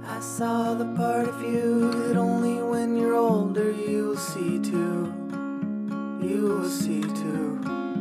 I saw the part of you that only when you're older you'll see too. You will see too.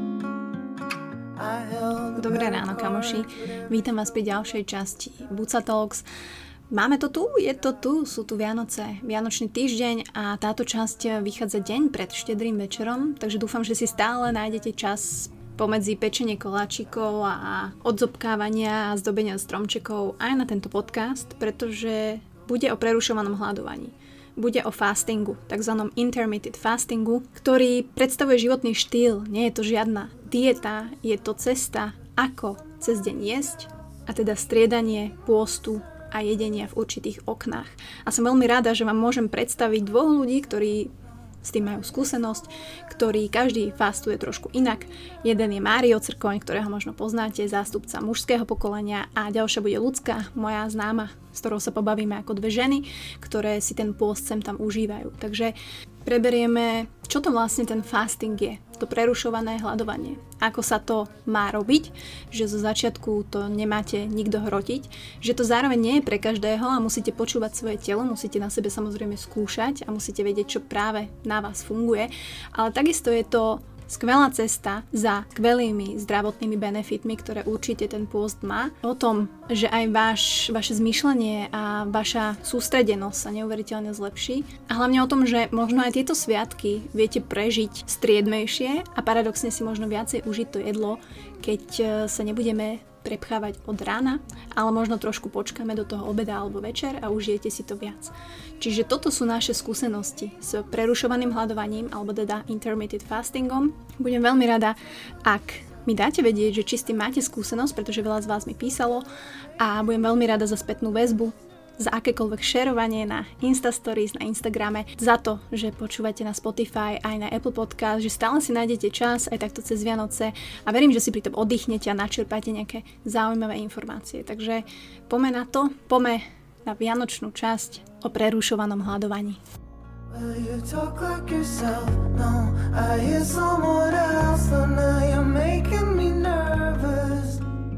Dobré ráno, kamoši. Vítam vás pri ďalšej časti Buca Talks. Máme to tu, je to tu, sú tu Vianoce, Vianočný týždeň a táto časť vychádza deň pred štedrým večerom, takže dúfam, že si stále nájdete čas pomedzi pečenie koláčikov a odzobkávania a zdobenia stromčekov aj na tento podcast, pretože bude o prerušovanom hľadovaní. Bude o fastingu, takzvanom intermittent fastingu, ktorý predstavuje životný štýl. Nie je to žiadna dieta, je to cesta, ako cez deň jesť, a teda striedanie pôstu a jedenia v určitých oknách. A som veľmi rada, že vám môžem predstaviť dvoch ľudí, ktorí s tým majú skúsenosť, ktorí každý fastuje trošku inak. Jeden je Mário Crkoň, ktorého možno poznáte, zástupca mužského pokolenia, a ďalšia bude Ľudská, moja známa, s ktorou sa pobavíme ako dve ženy, ktoré si ten pôst sem tam užívajú. Takže preberieme, čo to vlastne ten fasting je, to prerušované hľadovanie. Ako sa to má robiť, že zo začiatku to nemáte nikto hrotiť, že to zároveň nie je pre každého a musíte počúvať svoje telo, musíte na sebe samozrejme skúšať a musíte vedieť, čo práve na vás funguje, ale takisto je to skvelá cesta za skvelými zdravotnými benefitmi, ktoré určite ten pôst má. O tom, že aj vaše zmýšľanie a vaša sústredenosť sa neuveriteľne zlepší. A hlavne o tom, že možno aj tieto sviatky viete prežiť striedmejšie a paradoxne si možno viacej užiť to jedlo, keď sa nebudeme prepchávať od rána, ale možno trošku počkáme do toho obeda alebo večer a užijete si to viac. Čiže toto sú naše skúsenosti s prerušovaným hľadovaním alebo teda intermittent fastingom. Budem veľmi rada, ak mi dáte vedieť, že či s tým máte skúsenosť, pretože veľa z vás mi písalo, a budem veľmi rada za spätnú väzbu, za akékoľvek šerovanie na Instastories, na Instagrame, za to, že počúvate na Spotify aj na Apple Podcast, že stále si nájdete čas aj takto cez Vianoce a verím, že si pri tom oddychnete a načerpáte nejaké zaujímavé informácie. Takže poďme na to, poďme na vianočnú časť o prerušovanom hľadovaní. Well, you talk like yourself, no, I hear someone else, so now you're making me nervous.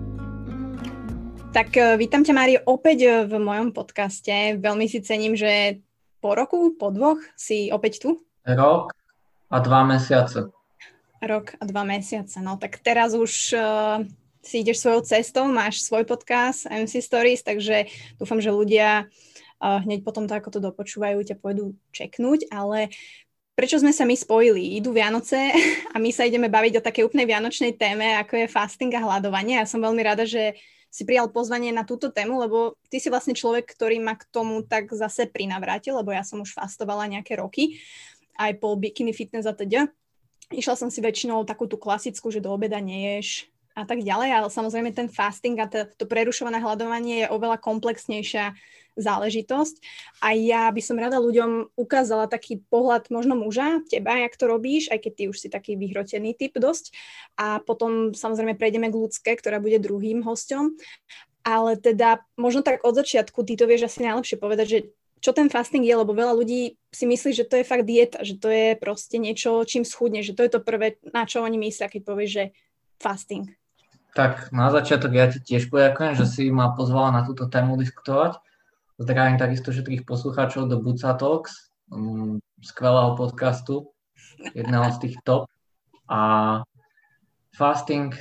Tak vítam ťa, Mário, opäť v mojom podcaste. Veľmi si cením, že po roku, po dvoch si opäť tu. Rok a 2 mesiace. Rok a 2 mesiace. No tak teraz už si ideš svojou cestou, máš svoj podcast MC Stories, takže dúfam, že ľudia hneď potom to, ako to dopočúvajú, ťa pôjdu čeknúť, ale prečo sme sa my spojili? Idú Vianoce a my sa ideme baviť o takej úplnej vianočnej téme, ako je fasting a hľadovanie. Ja som veľmi rada, že si prijal pozvanie na túto tému, lebo ty si vlastne človek, ktorý ma k tomu tak zase prinavrátil, lebo ja som už fastovala nejaké roky, aj po bikini fitness a teda. Išla som si väčšinou takú tú klasickú, že do obeda neješ a tak ďalej, ale samozrejme ten fasting a to prerušované hľadovanie je oveľa komplexnejšia záležitosť a ja by som rada ľuďom ukázala taký pohľad možno muža, teba, jak to robíš, aj keď ty už si taký vyhrotený typ dosť, a potom samozrejme prejdeme k Ľudské, ktorá bude druhým hosťom, ale teda možno tak od začiatku ty to vieš asi najlepšie povedať, že čo ten fasting je, lebo veľa ľudí si myslí, že to je fakt dieta, že to je proste niečo, čím schudne, že to je to prvé, na čo oni myslia, keď povieš, že fasting. Tak na začiatok ja ti tiež poďakujem, že si ma pozvala na túto tému diskutovať. Zdravím takisto všetkých poslucháčov do Buca Talks, skvelého podcastu, jedného z tých top. A fasting,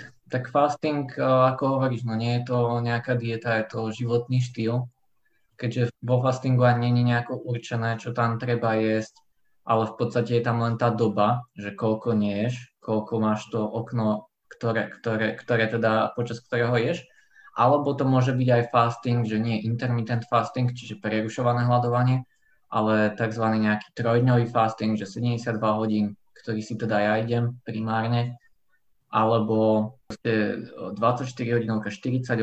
ako hovoríš, no nie je to nejaká dieta, je to životný štýl, keďže vo fastingu ani nie je nejako určené, čo tam treba jesť, ale v podstate je tam len tá doba, že koľko neješ, koľko máš to okno, ktoré teda počas ktorého ješ. Alebo to môže byť aj fasting, že nie intermittent fasting, čiže prerušované hľadovanie, ale tzv. Nejaký trojdňový fasting, že 72 hodín, ktorý si teda ja idem primárne, alebo 24 hodinovka, 48.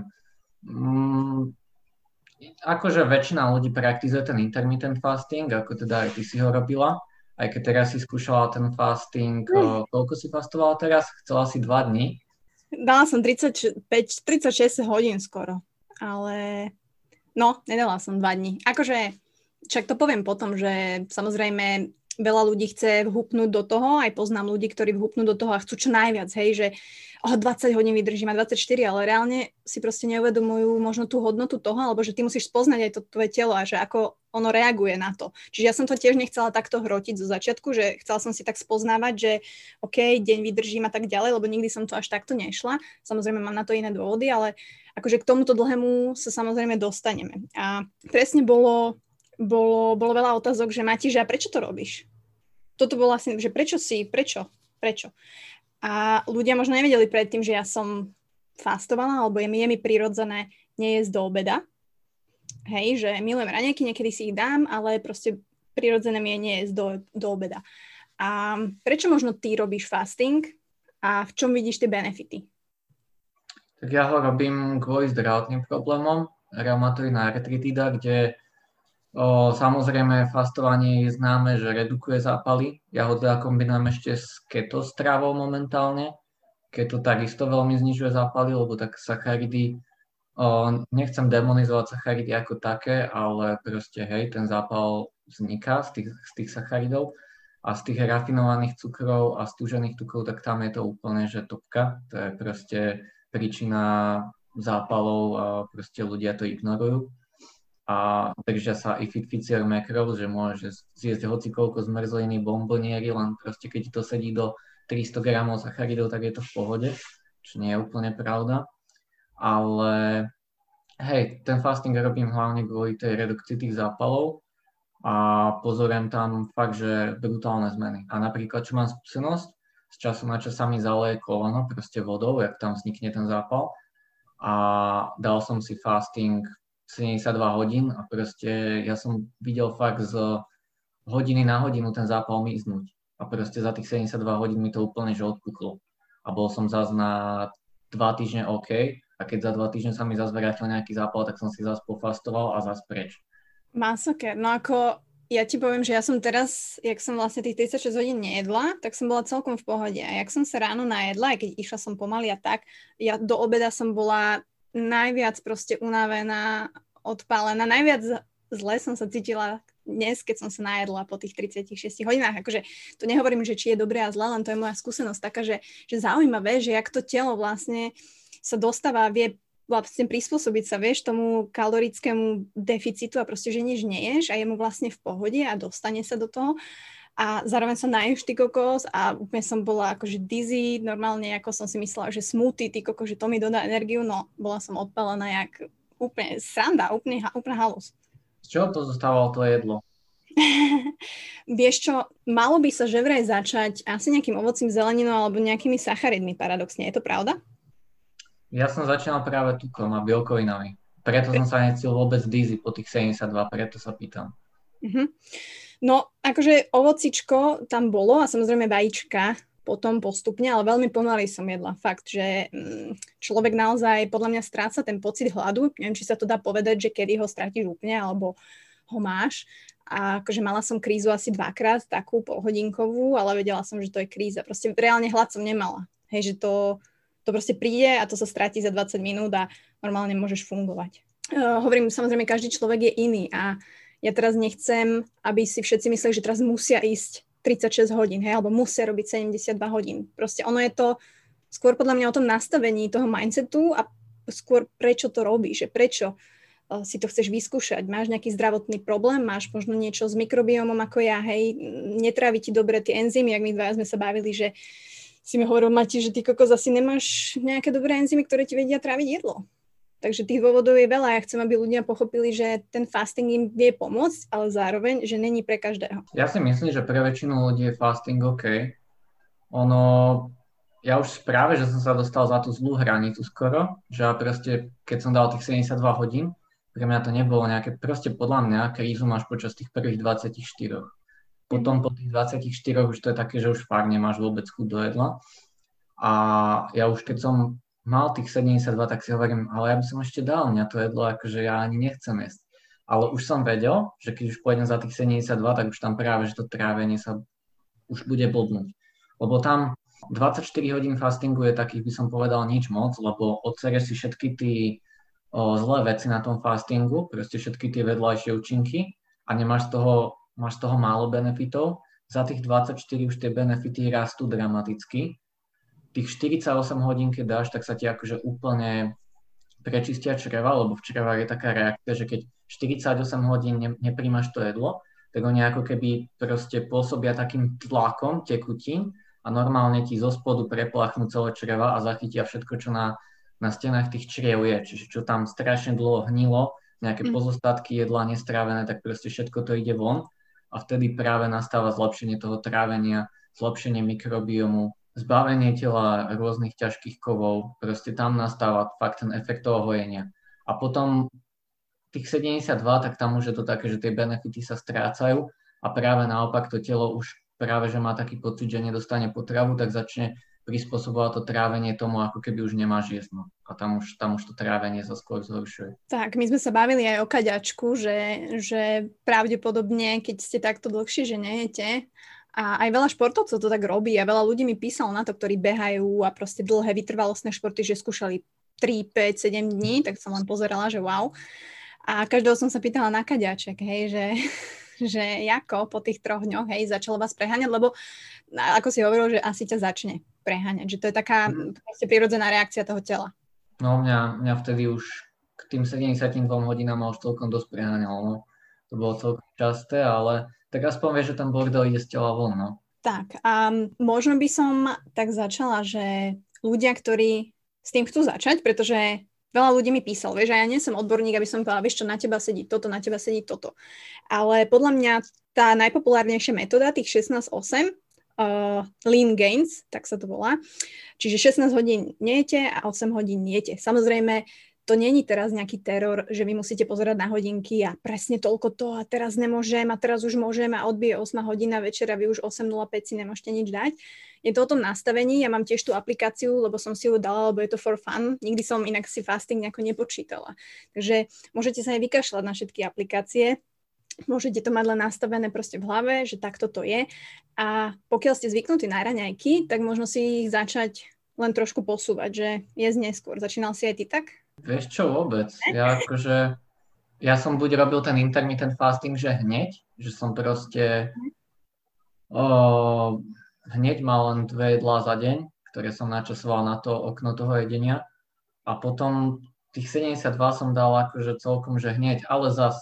Akože väčšina ľudí praktizuje ten intermittent fasting, ako teda aj ty si ho robila, aj keď teraz si skúšala ten fasting, koľko si fastovala teraz? Chcela si 2 dní? Dala som 36 hodín skoro, ale no, nedala som 2 dní. Akože, však to poviem potom, že samozrejme veľa ľudí chce vhupnúť do toho, aj poznám ľudí, ktorí vhupnú do toho a chcú čo najviac, hej, že 20 hodín vydržím a 24, ale reálne si proste neuvedomujú možno tú hodnotu toho, alebo že ty musíš spoznať aj to tvoje telo a že ako ono reaguje na to. Čiže ja som to tiež nechcela takto hrotiť zo začiatku, že chcela som si tak spoznávať, že OK, deň vydržím a tak ďalej, lebo nikdy som to až takto nešla. Samozrejme mám na to iné dôvody, ale akože k tomuto dlhému sa samozrejme dostaneme. A presne bolo veľa otázok, že Mati, že a prečo to robíš? Toto bolo vlastne, že prečo? A ľudia možno nevedeli predtým, že ja som fastovala, alebo je mi prirodzené nejesť do obeda. Hej, že milujem raňajky, niekedy si ich dám, ale proste prirodzené mi je nejesť do obeda. A prečo možno ty robíš fasting a v čom vidíš tie benefity? Tak ja ho robím kvôli zdravotným problémom, reumatoidná artritída, kde samozrejme fastovanie je známe, že redukuje zápaly. Ja ho teda kombinujem ešte s keto stravou momentálne. Keto takisto veľmi znižuje zápaly, lebo tak sacharidy, nechcem demonizovať sacharidy ako také, ale proste hej, ten zápal vzniká z tých sacharidov a z tých rafinovaných cukrov a stúžených cukrov, tak tam je to úplne, že topka. To je proste príčina zápalov a proste ľudia to ignorujú. A držia sa ifificier macros, že môžeš zjesť hocikoľko zmrzliny, bombonieri, len proste keď to sedí do 300 gramov sacharidov, tak je to v pohode, čo nie je úplne pravda. Ale hej, ten fasting robím hlavne kvôli tej redukcii tých zápalov a pozorujem tam fakt, že brutálne zmeny. A napríklad, čo mám skúsenosť, z času na čas sa mi zaleje koleno proste vodou, jak tam vznikne ten zápal. A dal som si fasting 72 hodín a proste ja som videl fakt z hodiny na hodinu ten zápal miznúť. A proste za tých 72 hodín mi to úplne že odpuklo. A bol som zase na 2 týždne OK. A keď za 2 týždne sa mi zase vrátil nejaký zápal, tak som si zase pofastoval a zase preč. Masaker. No ako ja ti poviem, že ja som teraz, jak som vlastne tých 36 hodín nejedla, tak som bola celkom v pohode. A jak som sa ráno najedla, aj keď išla som pomaly a tak, ja do obeda som bola najviac proste unavená, odpálená. Najviac zle som sa cítila dnes, keď som sa najedla po tých 36 hodinách. Akože to nehovorím, že či je dobré a zle, len to je moja skúsenosť taká, že zaujímavé, že jak to telo vlastne sa dostáva, vie vlastne prispôsobiť sa, vieš, tomu kalorickému deficitu a proste, že nič neješ a je mu vlastne v pohode a dostane sa do toho. A zároveň som naješ ty kokos a úplne som bola akože dizzy, normálne ako som si myslela, že smoothie, ty kokos, že to mi dodá energiu, no bola som odpálená jak úplne sranda, úplne halus. Z čoho pozostávalo to jedlo? Vieš čo, malo by sa že vraj začať asi nejakým ovocím, zeleninou alebo nejakými sacharidmi paradoxne, je to pravda? Ja som začínal práve tukom a bielkovinami. Preto som sa necítil vôbec dizzy po tých 72, preto sa pýtam. Uh-huh. No, akože ovocičko tam bolo a samozrejme vajíčka potom postupne, ale veľmi pomaly som jedla. Fakt, že človek naozaj podľa mňa stráca ten pocit hladu. Neviem, či sa to dá povedať, že kedy ho stratíš úplne, alebo ho máš. A akože mala som krízu asi 2-krát, takú polhodinkovú, ale vedela som, že to je kríza. Proste reálne hlad som nemala. Hej, že to proste príde a to sa stratí za 20 minút a normálne môžeš fungovať. Hovorím, samozrejme, každý človek je iný a ja teraz nechcem, aby si všetci mysleli, že teraz musia ísť 36 hodín, hej, alebo musia robiť 72 hodín. Proste ono je to skôr podľa mňa o tom nastavení toho mindsetu a skôr prečo to robíš, že prečo si to chceš vyskúšať. Máš nejaký zdravotný problém, máš možno niečo s mikrobiomom ako ja, hej, netrávi ti dobre tie enzymy, jak my dvaja sme sa bavili, že si mi hovoril, Mati, že ty kokos asi nemáš nejaké dobré enzymy, ktoré ti vedia tráviť jedlo. Takže tých dôvodov je veľa. Ja chcem, aby ľudia pochopili, že ten fasting im vie pomôcť, ale zároveň, že není pre každého. Ja si myslím, že pre väčšinu ľudí je fasting OK. Ja už práve, že som sa dostal za tú zlú hranicu skoro, že proste, keď som dal tých 72 hodín, pre mňa to nebolo nejaké, proste podľa mňa krízu máš počas tých prvých 24. Potom po tých 24 už to je také, že už fakt nemáš vôbec chuť do jedla. A ja už keď som mal tých 72, tak si hovorím, ale ja by som ešte dal, mňa to jedlo, akože ja ani nechcem jesť. Ale už som vedel, že keď už pôjdem za tých 72, tak už tam práve, že to trávenie sa už bude blbnúť. Lebo tam 24 hodín fastingu je takých, by som povedal, nič moc, lebo odsereš si všetky tie zlé veci na tom fastingu, proste všetky tie vedľajšie účinky a máš z toho málo benefitov za tých 24 už tie benefity rastú dramaticky. Tých 48 hodín, keď dáš, tak sa ti akože úplne prečistia čreva, lebo v črevách je taká reakcia, že keď 48 hodín nepríjmaš to jedlo, tak oni ako keby proste pôsobia takým tlakom tekutín a normálne ti zo spodu prepláchnú celé čreva a zachytia všetko, čo na stenách tých čriev je. Čiže čo tam strašne dlho hnilo, nejaké pozostatky jedla nestrávené, tak proste všetko to ide von a vtedy práve nastáva zlepšenie toho trávenia, zlepšenie mikrobiomu, zbavenie tela rôznych ťažkých kovov, proste tam nastáva fakt ten efekt toho hojenia. A potom tých 72, tak tam už je to také, že tie benefity sa strácajú a práve naopak to telo už práve, že má taký pocit, že nedostane potravu, tak začne prispôsobovať to trávenie tomu, ako keby už nemáš jesť. No. A tam už to trávenie sa skôr zhoršuje. Tak, my sme sa bavili aj o kaďačku, že pravdepodobne, keď ste takto dlhšie, že nejete, a aj veľa športovcov to tak robí a veľa ľudí mi písalo na to, ktorí behajú a proste dlhé vytrvalostné športy, že skúšali 3, 5, 7 dní, tak som len pozerala, že wow. A každého som sa pýtala na kaďaček, hej, že ako po tých 3 dňoch, hej, začalo vás preháňať, lebo ako si hovoril, že asi ťa začne preháňať, že to je taká proste prirodzená reakcia toho tela. No mňa vtedy už k tým 72 hodinám už celkom dosť preháňalo, no. To bolo celkom časté, ale tak aspoň vieš, že ten bordel ide z tela von, no. Tak a možno by som tak začala, že ľudia, ktorí s tým chcú začať, pretože veľa ľudí mi písal, vieš, a ja nie som odborník, aby som povedala, vieš čo, na teba sedí toto, na teba sedí toto. Ale podľa mňa tá najpopulárnejšia metóda, tých 16-8, lean gains, tak sa to volá. Čiže 16 hodín nejete a 8 hodín jete. Samozrejme, to není teraz nejaký teror, že vy musíte pozerať na hodinky a presne toľko to a teraz nemôžem a teraz už môžem a odbije 8 hodina večer a vy už 8:05 si nemôžete nič dať. Je to o tom nastavení, ja mám tiež tú aplikáciu, lebo som si ju dala, lebo je to for fun. Nikdy som inak si fasting nejako nepočítala. Takže môžete sa aj vykašľať na všetky aplikácie. Môžete to mať len nastavené proste v hlave, že takto to je. A pokiaľ ste zvyknutí na raňajky, tak možno si ich začať len trošku posúvať, že jesť neskôr. Začínal si aj ty tak? Vieš čo, vôbec. Ja som buď robil ten intermittent fasting, že hneď, že som proste hneď mal len 2 jedlá za deň, ktoré som načasoval na to okno toho jedenia. A potom tých 72 som dal akože celkom, že hneď, ale zas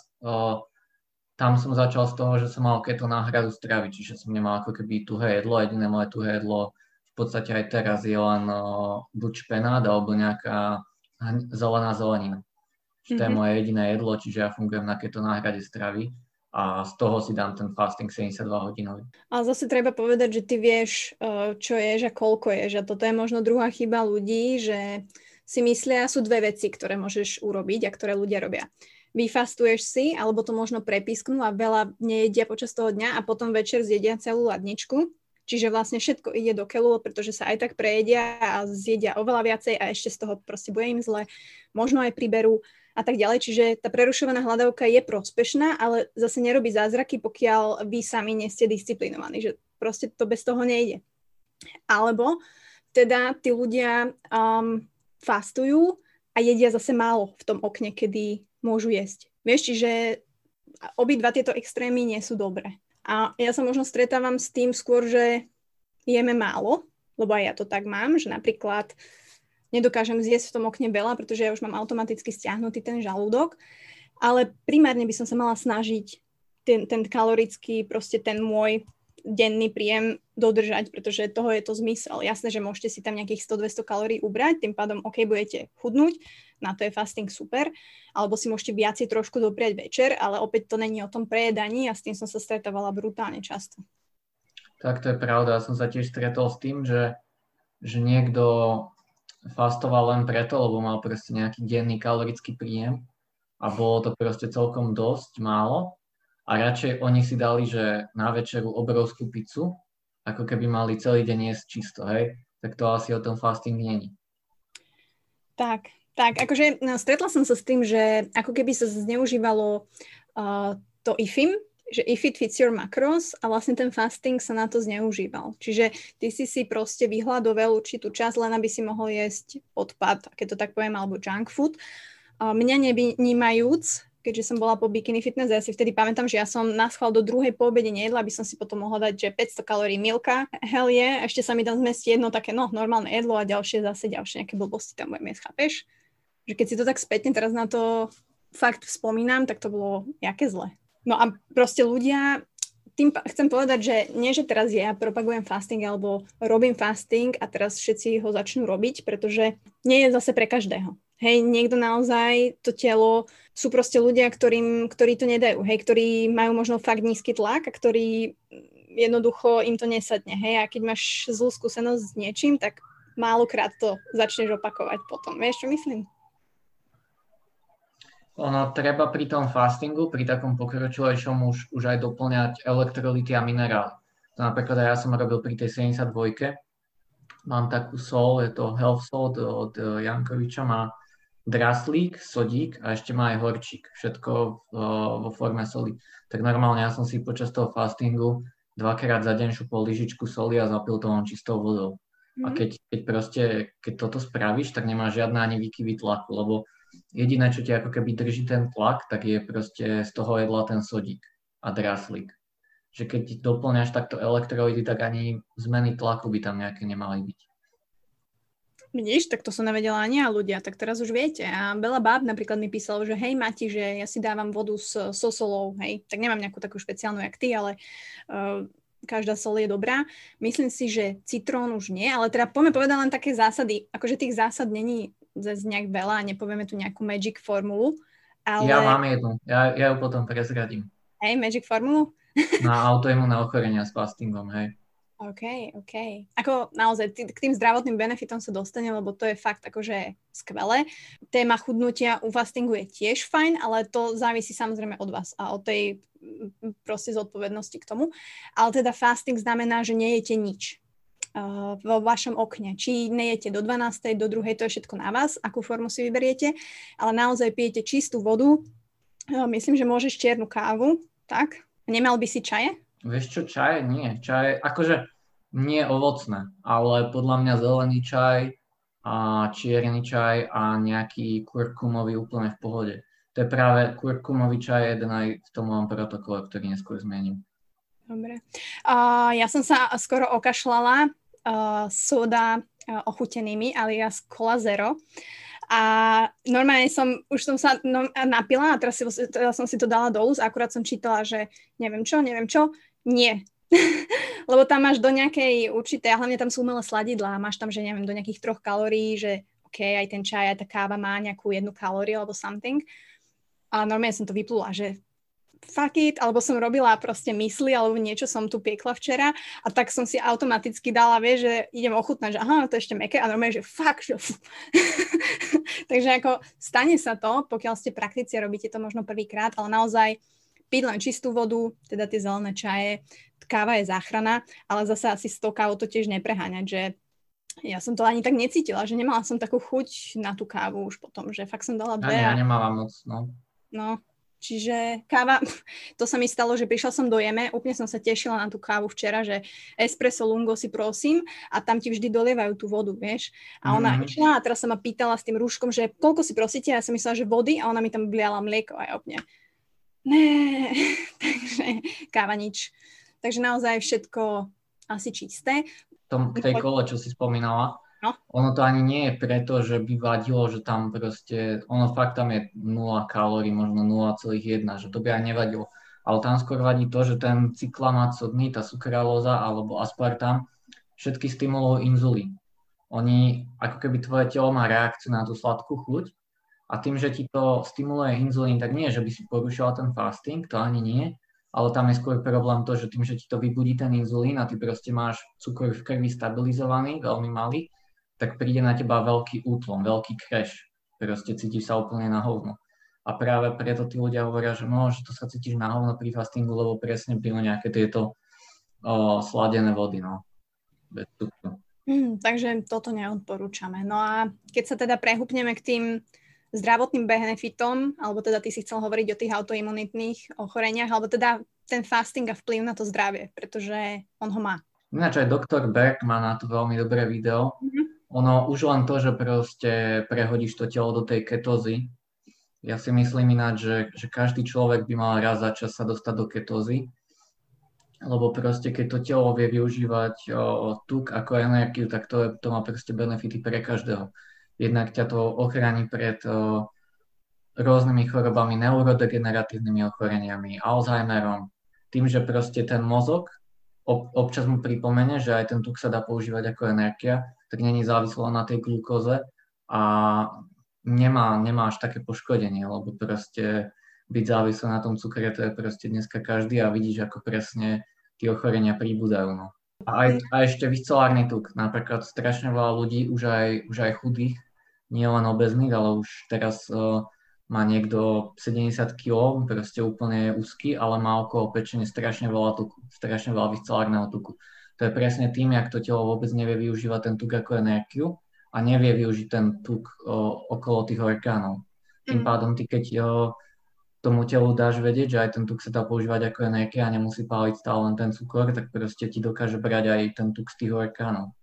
tam som začal z toho, že som mal keto náhradu stravy, čiže som nemal ako keby tuhé jedlo, jediné moje tuhé jedlo v podstate aj teraz je len buď špenát alebo nejaká zelená zelenina. Čiže to je moje jediné jedlo, čiže ja fungujem na keto náhrade stravy a z toho si dám ten fasting 72 hodinový. Ale zase treba povedať, že ty vieš, čo ješ a koľko ješ a toto je možno druhá chyba ľudí, že si myslia, sú 2 veci, ktoré môžeš urobiť a ktoré ľudia robia. Vyfastuješ si, alebo to možno prepísknú a veľa nejedia počas toho dňa a potom večer zjedia celú ladničku. Čiže vlastne všetko ide do keľu, pretože sa aj tak prejedia a zjedia oveľa viacej a ešte z toho proste bude im zle. Možno aj priberú a tak ďalej. Čiže tá prerušovaná hladovka je prospešná, ale zase nerobí zázraky, pokiaľ vy sami nie ste disciplinovaní. Že proste to bez toho nejde. Alebo teda tí ľudia fastujú a jedia zase málo v tom okne, kedy môžu jesť. Vieš, čiže obidva tieto extrémy nie sú dobré. A ja sa možno stretávam s tým skôr, že jeme málo, lebo aj ja to tak mám, že napríklad nedokážem zjesť v tom okne veľa, pretože ja už mám automaticky stiahnutý ten žalúdok, ale primárne by som sa mala snažiť ten kalorický, proste ten môj denný príjem dodržať, pretože toho je to zmysel. Jasné, že môžete si tam nejakých 100-200 kalórií ubrať, tým pádom OK, budete chudnúť, na to je fasting super, alebo si môžete viacej trošku dopriať večer, ale opäť to není o tom prejedaní a s tým som sa stretávala brutálne často. Tak to je pravda, ja som sa tiež stretol s tým, že niekto fastoval len preto, lebo mal proste nejaký denný kalorický príjem a bolo to proste celkom dosť málo. A radšej oni si dali, že na večeru obrovskú pizzu, ako keby mali celý deň jesť čisto, hej? Tak to asi o tom fasting není. Tak, akože stretla som sa s tým, že ako keby sa zneužívalo to IFIM, že if it fits your macros a vlastne ten fasting sa na to zneužíval. Čiže ty si proste vyhľadoval určitú časť, len aby si mohol jesť odpad, keď to tak poviem, alebo junk food. Mňa nevnímajúc, keďže som bola po bikini fitness, ja si vtedy pamätám, že ja som na schvál do druhej po obede nejedla, aby som si potom mohla dať, že 500 kalórií milka, hell je, ešte sa mi tam zmestí jedno také, normálne jedlo a ďalšie nejaké blbosti tam budem jesť, chápeš? Že keď si to tak spätne teraz na to fakt spomínam, tak to bolo jaké zle. No a proste ľudia, tým chcem povedať, že nie, že teraz ja propagujem fasting alebo robím fasting a teraz všetci ho začnú robiť, pretože nie je zase pre každého. Hej, niekto naozaj, to telo, sú proste ľudia, ktorí to nedajú, hej, ktorí majú možno fakt nízky tlak a ktorí jednoducho im to nesadne, hej, a keď máš zlú skúsenosť s niečím, tak málokrát to začneš opakovať potom, vieš, čo myslím? Ono treba pri tom fastingu, pri takom pokročilejšom už aj doplňať elektrolyty a minerály. To napríklad aj ja som robil pri tej 72. Mám takú sol, je to Health Salt od Jankoviča, má draslík, sodík a ešte má aj horčík. Všetko vo forme soli. Tak normálne ja som si počas toho fastingu 2-krát za deň šupol lyžičku soli a zapil to len čistou vodou. A keď toto spravíš, tak nemáš žiadne ani výkyvy tlaku, lebo jediné, čo ti ako keby drží ten tlak, tak je proste z toho jedla ten sodík a draslík. Že keď ti doplňaš takto elektrolyty, tak ani zmeny tlaku by tam nejaké nemali byť. Vidíš, tak to som nevedela ani ja ľudia, tak teraz už viete. A veľa báb napríklad mi písalo, že hej Mati, že ja si dávam vodu so solou, hej. Tak nemám nejakú takú špeciálnu jak ty, ale každá sol je dobrá. Myslím si, že citrón už nie, ale teda poďme povedať len také zásady. Akože tých zásad není zase nejak veľa, nepovieme tu nejakú magic formulu. Ale... Ja mám jednu, ja ju potom prezradím. Hej, magic formulu? Na autoimunné ochorenia s fastingom, hej. OK. Ako naozaj k tým zdravotným benefitom sa dostane, lebo to je fakt akože skvelé. Téma chudnutia u fastingu je tiež fajn, ale to závisí samozrejme od vás a od tej proste zodpovednosti k tomu. Ale teda fasting znamená, že nejete nič vo vašom okne. Či nejete do 12, do 2, to je všetko na vás, akú formu si vyberiete, ale naozaj pijete čistú vodu. Myslím, že môžeš čiernu kávu, tak? Nemal by si čaje? Vieš čo, čaj? Nie. Čaj, akože nie ovocné, ale podľa mňa zelený čaj a čierny čaj a nejaký kurkumový úplne v pohode. To je práve kurkumový čaj, jeden aj v tom mojom protokole, ktorý neskôr zmením. Dobre. Ja som sa skoro okašľala soda ochutenými alias Cola Zero. A normálne som sa napila a teraz som si to dala do úst a akurát som čítala, že neviem čo, nie. Lebo tam máš do nejakej určitej, a hlavne tam sú umelé sladidlá, máš tam, že neviem, do nejakých 3 kalórií, že OK, aj ten čaj, aj tá káva má nejakú 1 kalóriu alebo something. A normálne som to vyplula, že fuck it, alebo som robila proste mysli, alebo niečo som tu piekla včera a tak som si automaticky dala, vieš, že idem ochutnať, že aha, to je ešte mäkké a normálne, že fuck, že Takže ako stane sa to, pokiaľ ste praktici a robíte to možno prvýkrát, ale naozaj piť len čistú vodu, teda tie zelené čaje, káva je záchrana, ale zase asi s tou kávou to tiež nepreháňať, že ja som to ani tak necítila, že nemala som takú chuť na tú kávu už potom, že fakt som dala 2. Ja nemala moc, no. No, čiže káva, to sa mi stalo, že prišla som do Jeme, úplne som sa tešila na tú kávu včera, že espresso lungo si prosím a tam ti vždy dolievajú tú vodu, vieš. A ona išla a teraz sa ma pýtala s tým rúškom, že koľko si prosíte, a ja som myslela, že vody a ona mi tam vliala mlieko a ja úplne ne, takže káva nič. Takže naozaj všetko asi čisté. K tej kole, čo si spomínala, no? Ono to ani nie je preto, že by vadilo, že tam proste, ono fakt tam je 0 kalórií, možno 0,1, že to by aj nevadilo. Ale tam skôr vadí to, že ten cyklamát sodný, tá sukralóza alebo aspartam, všetky stimulujú inzulín. Oni, ako keby tvoje telo má reakciu na tú sladkú chuť a tým, že ti to stimuluje inzulín, tak nie, že by si porušila ten fasting, to ani nie, ale tam je skôr problém to, že tým, že ti to vybudí ten inzulín a ty proste máš cukor v krvi stabilizovaný, veľmi malý, tak príde na teba veľký útlom, veľký crash. Proste cítiš sa úplne na hovno. A práve preto tí ľudia hovoria, že že to sa cítiš na hovno pri fastingu, lebo presne pijú nejaké tieto sladené vody, no. Bez cukru. Takže toto neodporúčame. No a keď sa teda prehúpneme k tým zdravotným benefitom, alebo teda ty si chcel hovoriť o tých autoimunitných ochoreniach, alebo teda ten fasting a vplyv na to zdravie, pretože on ho má. Ináč aj doktor Berg má na to veľmi dobré video. Ono už len to, že proste prehodíš to telo do tej ketózy, Ja si myslím ináč, že každý človek by mal raz za čas sa dostať do ketózy, lebo proste keď to telo vie využívať tuk ako energiu, tak to má proste benefity pre každého. Jednak ťa to ochráni pred rôznymi chorobami, neurodegeneratívnymi ochoreniami, Alzheimerom, tým, že proste ten mozog občas mu pripomene, že aj ten tuk sa dá používať ako energia, tak není závislo na tej glukóze a nemá až také poškodenie, lebo proste byť závislý na tom cukre, to je proste dneska každý a vidíš, ako presne tie ochorenia pribúdajú. No. A ešte viscelárny tuk, napríklad strašne veľa ľudí, už aj chudých, nie len obezných, ale už teraz má niekto 70 kg, proste úplne úzky, ale má okolo pečene strašne veľa tuku, strašne veľa viscelárneho tuku. To je presne tým, jak to telo vôbec nevie využívať ten tuk ako energiu a nevie využiť ten tuk okolo tých orgánov. Tým pádom ty, keď tomu telu dáš vedieť, že aj ten tuk sa dá používať ako energia a nemusí páliť stále len ten cukor, tak proste ti dokáže brať aj ten tuk z tých orgánov.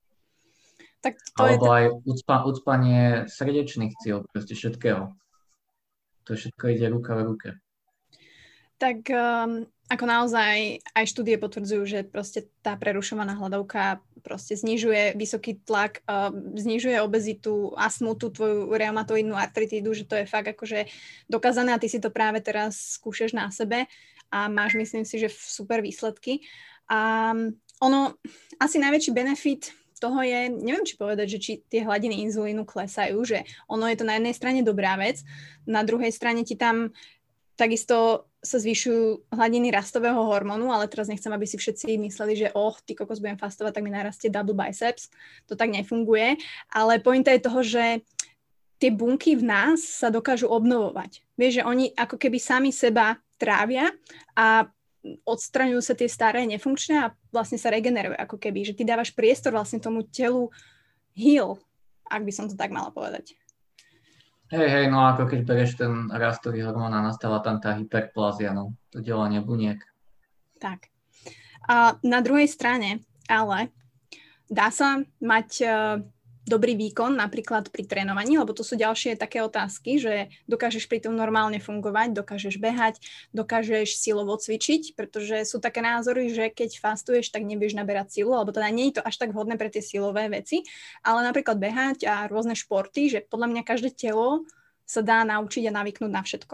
Tak to alebo aj ucpanie srdečných ciel, proste všetkého. To všetko ide ruka v ruke. Tak ako naozaj aj štúdie potvrdzujú, že proste tá prerušovaná hladovka proste znižuje vysoký tlak, znižuje obezitu, astmu, tú tvoju reumatoidnú artritídu, že to je fakt akože dokázané a ty si to práve teraz skúšaš na sebe a máš, myslím si, že super výsledky. A ono, asi najväčší benefit toho je, neviem či povedať, že či tie hladiny inzulínu klesajú, že ono je to na jednej strane dobrá vec, na druhej strane ti tam takisto sa zvyšujú hladiny rastového hormónu, ale teraz nechcem, aby si všetci mysleli, že ty kokos budem fastovať, tak mi narastie double biceps. To tak nefunguje, ale pointa je toho, že tie bunky v nás sa dokážu obnovovať. Vieš, že oni ako keby sami seba trávia a odstraňujú sa tie staré, nefunkčné a vlastne sa regenerujú ako keby, že ty dávaš priestor vlastne tomu telu heal, ak by som to tak mala povedať. Hej, no ako keď berieš ten rastový hormón a nastáva tam tá hyperplázia, no, to delanie buniek. Tak. A na druhej strane, ale dá sa mať dobrý výkon napríklad pri trénovaní, lebo to sú ďalšie také otázky, že dokážeš pri tom normálne fungovať, dokážeš behať, dokážeš silovo cvičiť, pretože sú také názory, že keď fastuješ, tak nebudeš naberať silu, alebo teda nie je to až tak vhodné pre tie silové veci, ale napríklad behať a rôzne športy, že podľa mňa každé telo sa dá naučiť a navyknúť na všetko.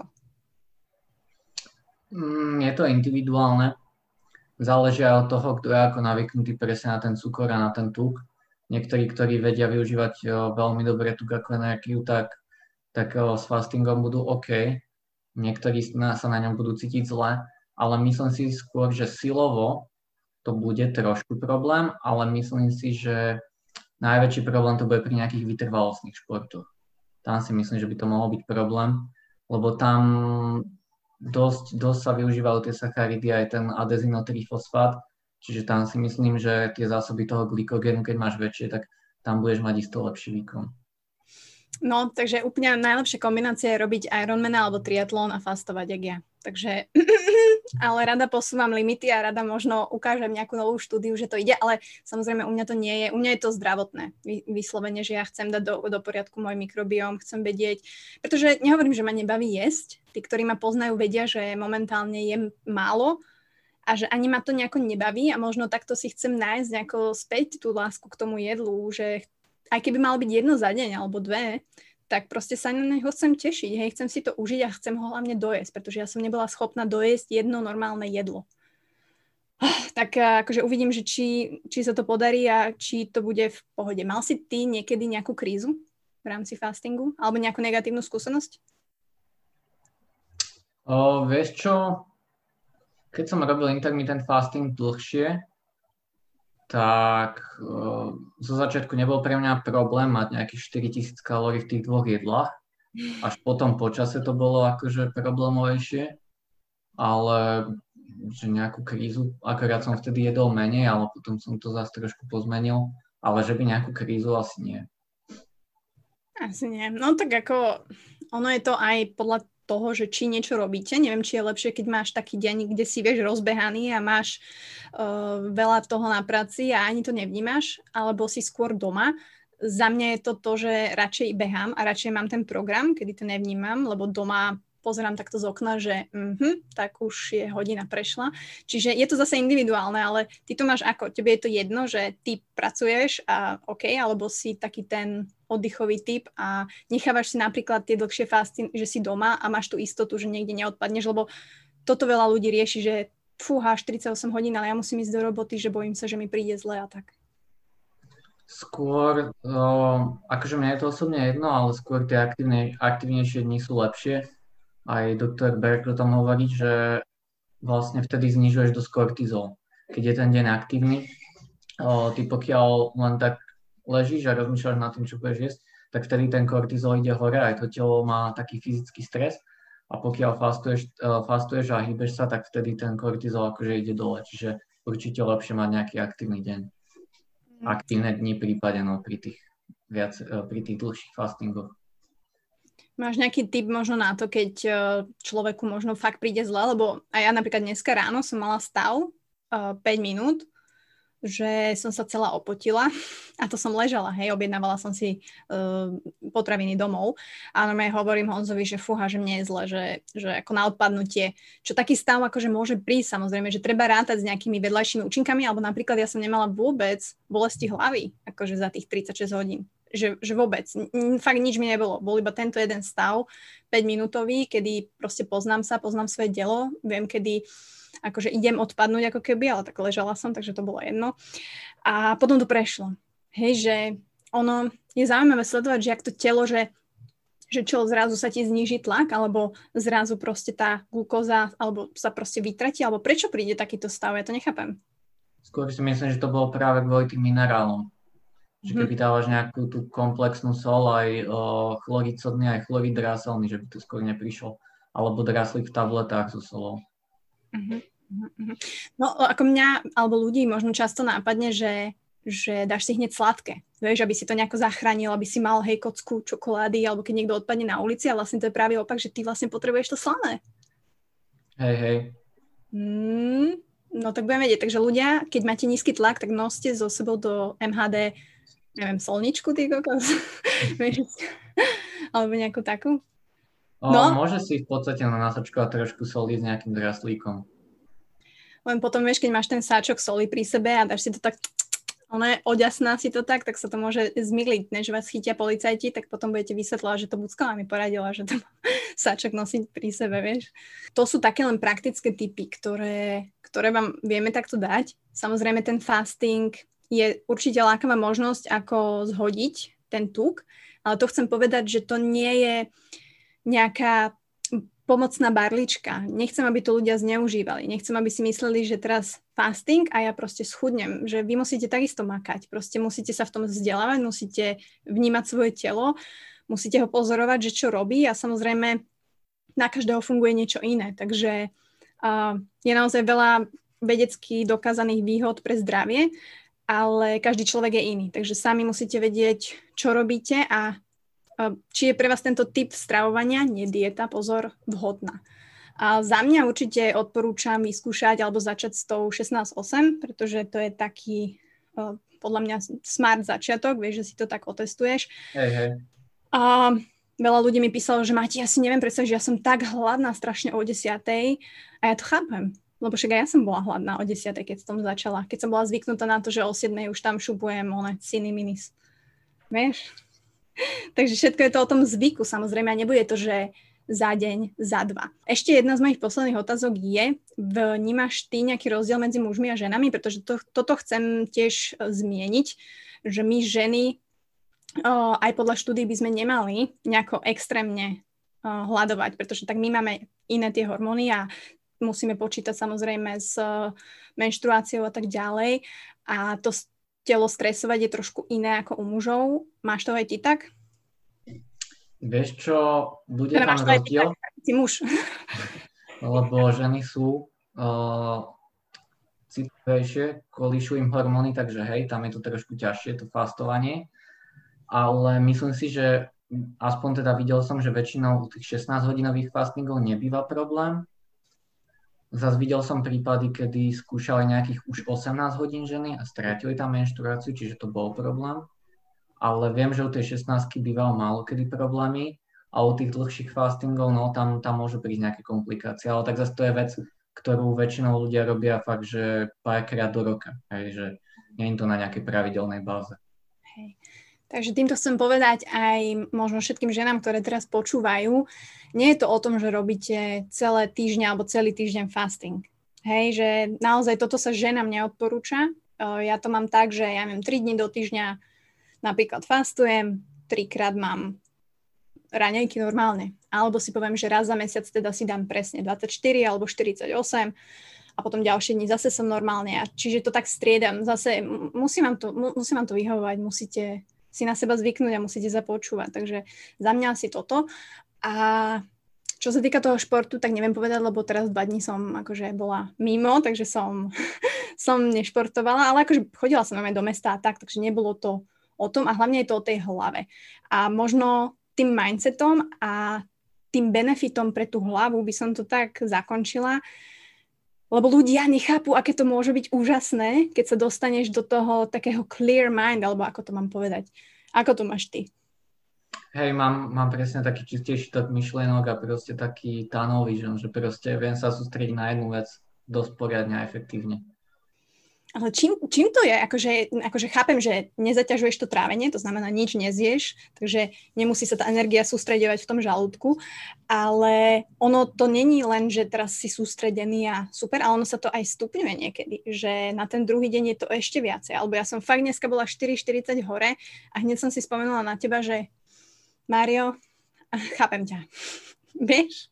Je to individuálne. Záleží aj od toho, kto je ako navyknutý presne na ten cukor a na ten tuk. Niektorí, ktorí vedia využívať veľmi dobre tuk ako energiu, tak s fastingom budú OK. Niektorí sa na ňom budú cítiť zle, ale myslím si skôr, že silovo to bude trošku problém, ale myslím si, že najväčší problém to bude pri nejakých vytrvalostných športoch. Tam si myslím, že by to mohol byť problém, lebo tam dosť sa využívajú tie sacharidy, aj ten adezinotrifosfát. Čiže tam si myslím, že tie zásoby toho glykogénu, keď máš väčšie, tak tam budeš mať isto lepší výkon. No, takže úplne najlepšia kombinácia je robiť Ironmana alebo triatlón a fastovať, jak ja. Takže, ale rada posúvam limity a rada možno ukážem nejakú novú štúdiu, že to ide, ale samozrejme u mňa to nie je, u mňa je to zdravotné, vyslovene, že ja chcem dať do poriadku môj mikrobióm, chcem vedieť, pretože nehovorím, že ma nebaví jesť, tí, ktorí ma poznajú, vedia, že momentálne jem málo, a že ani ma to nejako nebaví a možno takto si chcem nájsť nejako späť tú lásku k tomu jedlu, že aj keby malo byť jedno za deň alebo dve, tak proste sa na neho chcem tešiť, hej, chcem si to užiť a chcem ho hlavne dojesť, pretože ja som nebola schopná dojesť jedno normálne jedlo. Tak akože uvidím, že či sa to podarí a či to bude v pohode. Mal si ty niekedy nejakú krízu v rámci fastingu alebo nejakú negatívnu skúsenosť? Vieš čo? Keď som robil intermittent fasting dlhšie, tak zo začiatku nebol pre mňa problém mať nejakých 4000 kalórií v tých dvoch jedlách. Až potom po čase to bolo akože problémovejšie, ale že nejakú krízu, akorát som vtedy jedol menej, ale potom som to zase trošku pozmenil, ale že by nejakú krízu asi nie. Asi nie. No tak ako ono je to aj podľa toho, že či niečo robíte. Neviem, či je lepšie, keď máš taký deň, kde si vieš rozbehaný a máš veľa toho na práci a ani to nevnímaš, alebo si skôr doma za mňa je to, že radšej behám a radšej mám ten program, kedy to nevnímam, lebo doma pozerám takto z okna, že tak už je hodina prešla. Čiže je to zase individuálne, ale ty to máš ako? Tebe je to jedno, že ty pracuješ a OK, alebo si taký ten oddychový typ a nechávaš si napríklad tie dlhšie fasty, že si doma a máš tú istotu, že niekde neodpadneš, lebo toto veľa ľudí rieši, že fúha, 48 hodín, ale ja musím ísť do roboty, že bojím sa, že mi príde zle a tak. Skôr, akože mne je to osobne jedno, ale skôr tie aktivnejšie dni sú lepšie. Aj doktor Berg o tom hovorí, že vlastne vtedy znižuješ dosť kortizol. Keď je ten deň aktívny, ty pokiaľ len tak ležíš a rozmýšľaš nad tým, čo budeš jesť, tak vtedy ten kortizol ide hore, aj to telo má taký fyzický stres a pokiaľ fastuješ a hýbeš sa, tak vtedy ten kortizol akože ide dole. Čiže určite lepšie mať nejaký aktívny deň. Aktívne dni prípade pri tých dlhších fastingoch. Máš nejaký tip možno na to, keď človeku možno fakt príde zle, lebo aj ja napríklad dneska ráno som mala stav 5 minút, že som sa celá opotila a to som ležala, objednávala som si potraviny domov a normálne hovorím Honzovi, že fúha, že mne je zle, že ako na odpadnutie, čo taký stav akože môže prísť, samozrejme, že treba rátať s nejakými vedľajšími účinkami, alebo napríklad ja som nemala vôbec bolesti hlavy, akože za tých 36 hodín. Že vôbec. Fakt nič mi nebolo. Bol iba tento jeden stav, 5-minútový, kedy proste poznám svoje telo, viem, kedy akože idem odpadnúť ako keby, ale tak ležala som, takže to bolo jedno. A potom to prešlo. Že ono je zaujímavé sledovať, že ak to telo, že čo zrazu sa ti zníži tlak, alebo zrazu proste tá glukóza, alebo sa proste vytratí, alebo prečo príde takýto stav, ja to nechápem. Skôr si myslím, že to bolo práve kvôli tým minerálom. Že keby dávaš nejakú tú komplexnú sol, aj chlorid sodný, aj chlorid dráselný, že by to skôr neprišlo. Alebo dráslík v tabletách so solou. No ako mňa, alebo ľudí možno často nápadne, že dáš si hneď sladké. Vieš, aby si to nejako zachránil, aby si mal kocku čokolády, alebo keď niekto odpadne na ulici a vlastne to je práve opak, že ty vlastne potrebuješ to slané. Hej. No tak budem vedieť. Takže ľudia, keď máte nízky tlak, tak noste so sebou do MHD neviem, solničku, ty kokos? Alebo nejakú takú? Môže si v podstate nasačkovať trošku soli s nejakým draslíkom. Len potom, vieš, keď máš ten sáčok soli pri sebe a dáš si to tak, oďasná si to tak sa to môže zmyliť, než vás chytia policajti, tak potom budete vysvetľovať, že to Bucková mi poradila, že to sáčok nosiť pri sebe, vieš. To sú také len praktické tipy, ktoré vám vieme takto dať. Samozrejme, ten fasting je určite lákavá možnosť, ako zhodiť ten tuk, ale to chcem povedať, že to nie je nejaká pomocná barlička. Nechcem, aby to ľudia zneužívali. Nechcem, aby si mysleli, že teraz fasting a ja proste schudnem, že vy musíte takisto makať. Proste musíte sa v tom vzdelávať, musíte vnímať svoje telo, musíte ho pozorovať, že čo robí a samozrejme na každého funguje niečo iné. Takže je naozaj veľa vedecky dokázaných výhod pre zdravie, ale každý človek je iný. Takže sami musíte vedieť, čo robíte a či je pre vás tento typ stravovania, nie dieta, pozor, vhodná. A za mňa určite odporúčam vyskúšať alebo začať s tou 16-8, pretože to je taký podľa mňa smart začiatok, vieš, že si to tak otestuješ. Hej. A veľa ľudí mi písalo, že Mati, ja si neviem predstaviť, že ja som tak hladná strašne o 10:00 a ja to chápem. Lebo však aj ja som bola hladná o 10:00, keď som začala. Keď som bola zvyknutá na to, že o 7:00 už tam šupujem siny minis. Vieš? Takže všetko je to o tom zvyku, samozrejme, a nebude to, že za deň, za dva. Ešte jedna z mojich posledných otázok je, vnímaš ty nejaký rozdiel medzi mužmi a ženami? Pretože toto chcem tiež zmieniť, že my ženy aj podľa štúdií by sme nemali nejako extrémne hladovať, pretože tak my máme iné tie hormóny a musíme počítať samozrejme s menštruáciou a tak ďalej. A to telo stresovať je trošku iné ako u mužov. Máš to aj ty tak? Vieš čo, bude tam rozdiel? Si muž. Lebo ženy sú citlivejšie, kolíšu im hormóny, takže hej, tam je to trošku ťažšie, to fastovanie. Ale myslím si, že aspoň teda videl som, že väčšinou u tých 16-hodinových fastingov nebýva problém. Zas videl som prípady, kedy skúšali nejakých už 18 hodín ženy a strátili tam menštruáciu, čiže to bol problém. ale viem, že u tej 16 býval málo kedy problémy a u tých dlhších fastingov, no tam môžu prísť nejaké komplikácie, ale tak zase to je vec, ktorú väčšinou ľudia robia fakt, že párkrát do roka, hej, že nie je to na nejakej pravidelnej báze. Hej. Takže týmto chcem povedať aj možno všetkým ženám, ktoré teraz počúvajú, nie je to o tom, že robíte celé týždňa alebo celý týždeň fasting. Hej, že naozaj toto sa ženám neodporúča. Ja to mám tak, že ja mám 3 dní do týždňa napríklad fastujem, 3-krát mám raňajky normálne. Alebo si poviem, že raz za mesiac teda si dám presne 24 alebo 48 a potom ďalšie dni zase som normálne. Čiže to tak striedam. Zase musím vám to vyhovovať, musíte si na seba zvyknúť a musíte započúvať. Takže za mňa asi toto. A čo sa týka toho športu, tak neviem povedať, lebo teraz 2 dní som akože bola mimo, takže som nešportovala, ale akože chodila som aj do mesta a tak, takže nebolo to o tom a hlavne je to o tej hlave. A možno tým mindsetom a tým benefitom pre tú hlavu by som to tak zakončila, lebo ľudia nechápu, aké to môže byť úžasné, keď sa dostaneš do toho takého clear mind, alebo ako to mám povedať. Ako to máš ty? Hej, mám presne taký čistejší tok myšlienok a proste taký tunnel vision, že proste viem sa sústrediť na jednu vec dosť poriadne a efektívne. Ale čím to je? Akože chápem, že nezaťažuješ to trávenie, to znamená, nič nezieš, takže nemusí sa tá energia sústreďovať v tom žalúdku, ale ono to není len, že teraz si sústredený a super, ale ono sa to aj stupňuje niekedy, že na ten druhý deň je to ešte viacej. Alebo ja som fakt dneska bola 4:40 hore a hneď som si spomenula na teba, že Mário, chápem ťa. Vieš?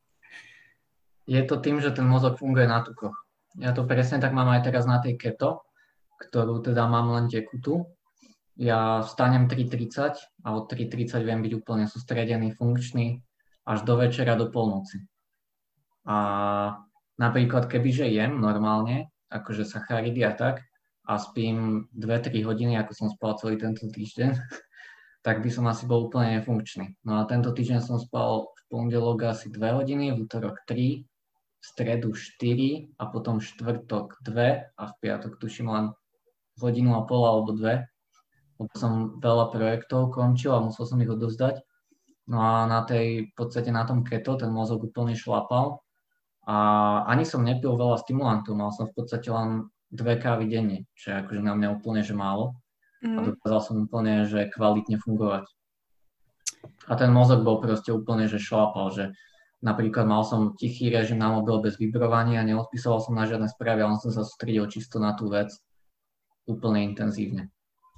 Je to tým, že ten mozog funguje na tukoch. Ja to presne tak mám aj teraz na tej keto, ktorú teda mám len tekutú. Ja vstanem 3:30 a od 3:30 viem byť úplne sústredený, funkčný až do večera, do polnoci. A napríklad kebyže jem normálne, akože sacharidy a tak, a spím 2-3 hodiny, ako som spal celý tento týždeň, tak by som asi bol úplne nefunkčný. No a tento týždeň som spal v pondelok asi 2 hodiny, v utorok 3, v stredu 4 a potom štvrtok 2 a v piatok tuším len 1,5 hodiny alebo 2. Lebo som veľa projektov končil a musel som ich odovzdať. No a v podstate na tom keto ten mozog úplne šlapal a ani som nepil veľa stimulantov, mal som v podstate len 2 kávy denne, čo je akože na mňa úplne že málo. A dokázal som úplne že kvalitne fungovať. A ten mozog bol proste úplne že šlapal, že napríklad mal som tichý režim na mobil bez vibrovania, neodpisoval som na žiadne správy, ale som sa sústredil čisto na tú vec úplne intenzívne.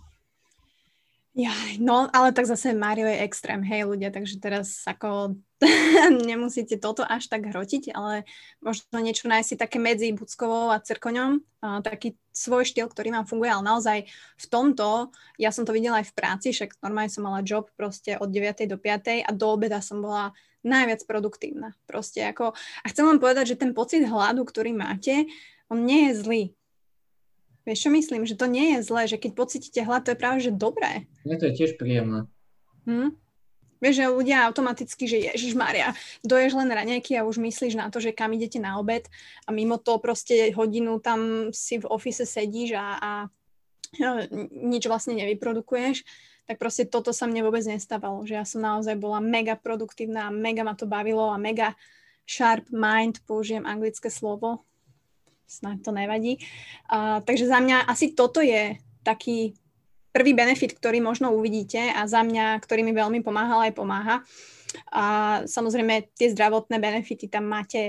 Ja, no, ale tak zase Mário je extrém, hej ľudia, takže teraz ako nemusíte toto až tak hrotiť, ale možno niečo nájsť si také medzi Buckovou a Cirkoňom, taký svoj štýl, ktorý vám funguje, ale naozaj v tomto, ja som to videla aj v práci, však normálne som mala job proste od 9. do 5. a do obeda som bola najviac produktívna. Proste ako, a chcem vám povedať, že ten pocit hladu, ktorý máte, on nie je zlý. Vieš, čo myslím? Že to nie je zlé, že keď pocítite hlad, to je práve, že dobré. Mne to je tiež príjemné. Vieš, že ľudia automaticky, že Ježišmária, doješ len raňajky a už myslíš na to, že kam idete na obed a mimo to proste hodinu tam si v office sedíš a nič vlastne nevyprodukuješ, tak proste toto sa mne vôbec nestávalo, že ja som naozaj bola mega produktívna, mega ma to bavilo a mega sharp mind, použijem anglické slovo, snáď to nevadí. Takže za mňa asi toto je taký prvý benefit, ktorý možno uvidíte a za mňa, ktorý mi veľmi pomáhal aj pomáha. A samozrejme tie zdravotné benefity tam máte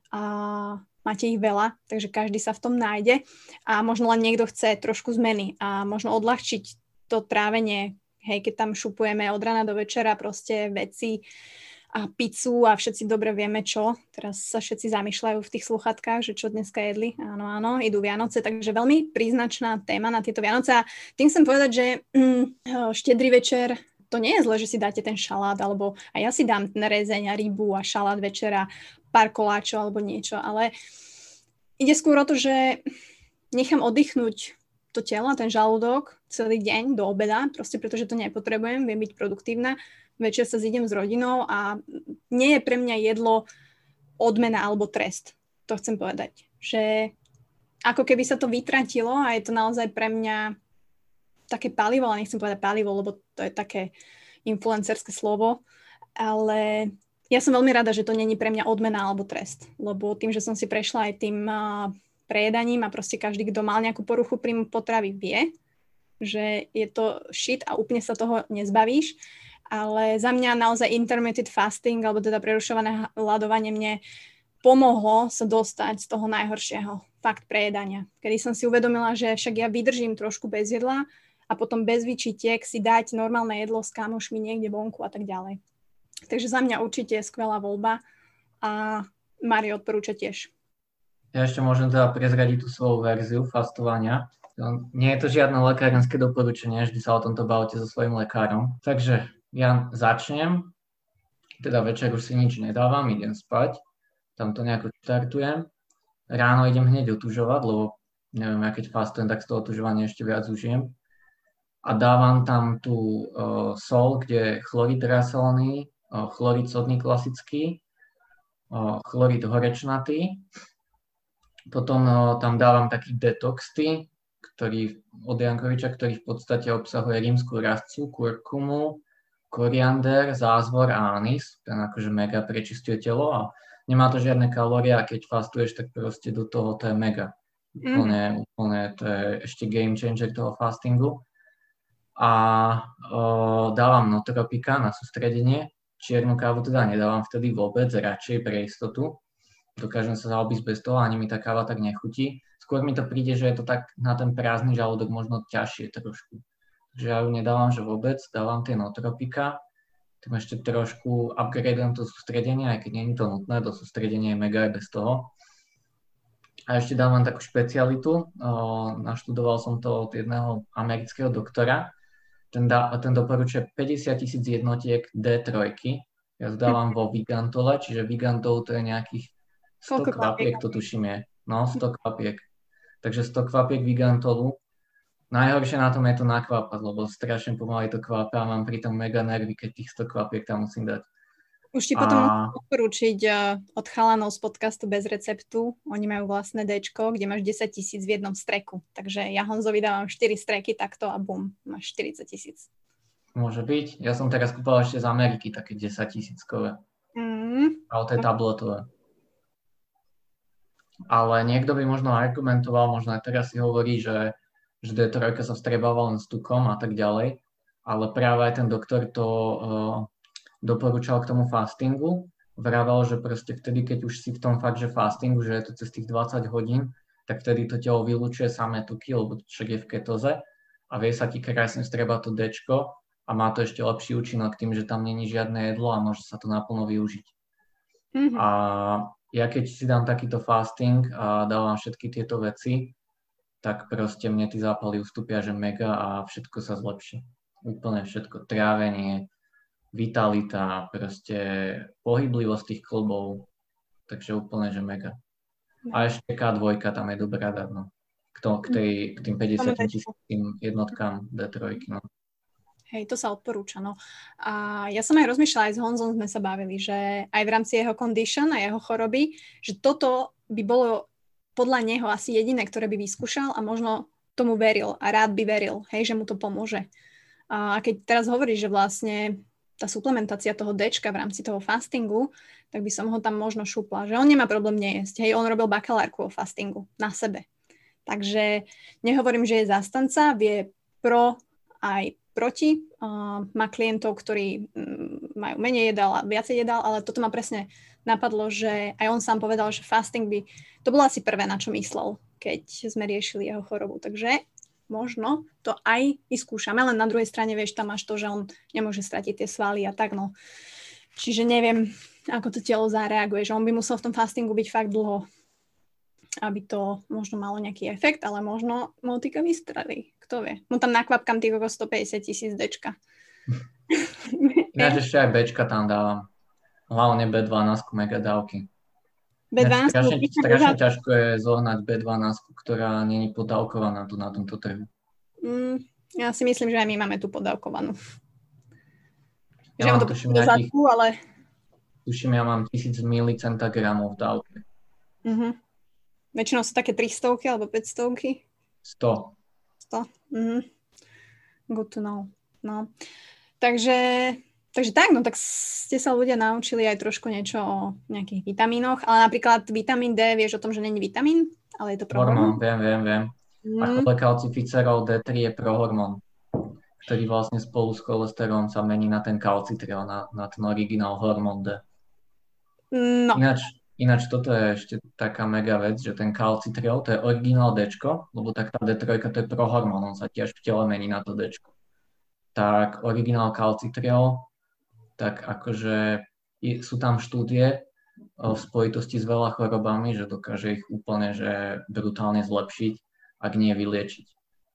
ich veľa, takže každý sa v tom nájde a možno len niekto chce trošku zmeny a možno odľahčiť to trávenie, hej, keď tam šupujeme od rana do večera proste veci a pizzu a všetci dobre vieme čo. Teraz sa všetci zamýšľajú v tých sluchatkách, že čo dneska jedli. Áno, idú Vianoce, takže veľmi príznačná téma na tieto Vianoce. A tým chcem povedať, že štedrý večer, to nie je zle, že si dáte ten šalát, alebo a ja si dám ten rezeň a rybu a šalát večera, pár koláčov alebo niečo, ale ide skôr o to, že nechám oddychnúť to telo, ten žalúdok celý deň do obeda, proste pretože to nepotrebujem, viem byť produktívna. Večer sa zídem s rodinou a nie je pre mňa jedlo odmena alebo trest. To chcem povedať. Že ako keby sa to vytratilo a je to naozaj pre mňa také palivo, ale nechcem povedať palivo, lebo to je také influencerské slovo, ale ja som veľmi rada, že to není pre mňa odmena alebo trest, lebo tým, že som si prešla aj tým prejedaním a proste každý, kto mal nejakú poruchu príjmu potravy, vie, že je to shit a úplne sa toho nezbavíš, ale za mňa naozaj intermittent fasting, alebo teda prerušované hladovanie mne pomohlo sa dostať z toho najhoršieho, fakt prejedania. Kedy som si uvedomila, že však ja vydržím trošku bez jedla a potom bez výčitiek si dať normálne jedlo s kamošmi niekde vonku a tak ďalej. Takže za mňa určite je skvelá voľba a Mário odporúča tiež. Ja ešte môžem teda prezradiť tú svoju verziu fastovania. Nie je to žiadne lekárenské doporučenie, vždy sa o tomto bavte so svojím lekárom. Takže ja začnem, teda večer už si nič nedávam, idem spať, tam to nejako štartujem. Ráno idem hneď otužovať, lebo neviem, ja keď fastujem, tak z toho otužovania ešte viac užijem. A dávam tam tú sol, kde je chlorid rasolný, chlorid sodný klasický, chlorid horečnatý. Potom tam dávam taký detox tea, od Jankoviča, ktorý v podstate obsahuje rímsku rastcu, kurkumu, koriander, zázvor a anis. Ten akože mega prečistuje telo a nemá to žiadne kalórie a keď fastuješ, tak proste do toho to je mega. Úplne to je ešte game changer toho fastingu. A dávam Notropika na sústredenie. Čiernu kávu teda nedávam vtedy vôbec, radšej pre istotu. Dokážem sa zaobísť bez toho, ani mi tá káva tak nechutí. Skôr mi to príde, že je to tak na ten prázdny žalúdok možno ťažšie trošku. Takže ja ju nedávam, že vôbec, dávam tie Notropika. Tam ešte trošku upgradeujem to sústredenie, aj keď nie je to nutné, to sústredenie je mega aj bez toho. A ešte dávam takú špecialitu, naštudoval som to od jedného amerického doktora. Ten doporučuje 50 000 jednotiek D3. Ja to dávam vo Vigantole, čiže Vigantol to je nejakých 100 kvapiek, to tuším je. No, 100 kvapiek. Takže 100 kvapiek Vigantolu. Najhoršie na tom je to nakvápať, lebo strašne pomaly to kvápe a mám pritom mega nervy, keď tých 100 kvapiek tam musím dať. Už ti potom musím odporúčiť od chalanov z podcastu Bez receptu. Oni majú vlastné Dčko, kde máš 10 000 v jednom streku. Takže ja Honzovi dávam 4 streky takto a bum, máš 40 000. Môže byť. Ja som teraz kúpal ešte z Ameriky také 10 000-kové. Ale to je tabletové. Ale niekto by možno argumentoval, možno aj teraz si hovorí, že D3 sa vstrebáva len s tukom a tak ďalej. Ale práve aj ten doktor to doporúčal k tomu fastingu. Vravel, že proste vtedy, keď už si v tom fakt, že fastingu, že je to cez tých 20 hodín, tak vtedy to telo vylúčuje samé tuky, lebo však je v ketóze a vie sa ti krásne vstrebať to Dčko a má to ešte lepší účinok tým, že tam není žiadne jedlo a môže sa to naplno využiť. A ja keď si dám takýto fasting a dávam všetky tieto veci, tak proste mne tí zápaly ustúpia, že mega a všetko sa zlepší. Úplne všetko. Trávenie, vitalita, proste pohyblivosť tých klbov, takže úplne, že mega. A ešte K2 tam je dobrá dať, no. K tým 50 000 jednotkám D3, no. Hej, to sa odporúča, no. A ja som aj rozmýšľala, aj s Honzom sme sa bavili, že aj v rámci jeho condition a jeho choroby, že toto by bolo podľa neho asi jediné, ktoré by vyskúšal a možno tomu veril a rád by veril, hej, že mu to pomôže. A keď teraz hovoríš, že vlastne tá suplementácia toho Dčka v rámci toho fastingu, tak by som ho tam možno šupla, že on nemá problém nejesť. Hej, on robil bakalárku o fastingu na sebe. Takže nehovorím, že je zastanca, vie pro aj proti. Má klientov, ktorí majú menej jedál a viacej jedál, ale toto ma presne napadlo, že aj on sám povedal, že fasting by, to bolo asi prvé, na čo myslel, keď sme riešili jeho chorobu. Takže možno to aj vyskúšame, len na druhej strane, vieš, tam máš to, že on nemôže stratiť tie svaly a tak, no. Čiže neviem, ako to telo zareaguje, že on by musel v tom fastingu byť fakt dlho, aby to možno malo nejaký efekt, ale možno motika vystrelí, kto vie. Mu tam nakvapkám tých okolo 150 000 Dčka. Ja ešte aj Bčka tam dávam. Hlavne B12 mega dávky. B12 strašne ťažko je zohnať B12, ktorá nie je podávkovaná tu na tomto trhu. Ja si myslím, že aj my máme tu podávkovanú. Ja mám tuším nejakých, ale... tuším, ja mám 1000 milicentagramov v dávke. Väčšinou sú také 300 alebo 500. 100. 100. Good to know. No. Takže tak, no tak ste sa ľudia naučili aj trošku niečo o nejakých vitamínoch, ale napríklad vitamín D, vieš o tom, že není vitamín, ale je to prohormón? Viem. A cholekalcificerol D3 je prohormón, ktorý vlastne spolu s cholesterolom sa mení na ten kalcitriol, na ten originál hormón D. No. Ináč toto je ešte taká mega vec, že ten kalcitriol, to je originál Dčko, lebo tak tá D3 to je prohormón, on sa tiež v tele mení na to Dčko. Tak originál kalcitriol, tak akože sú tam štúdie v spojitosti s veľa chorobami, že dokáže ich úplne že brutálne zlepšiť, ak nie vyliečiť.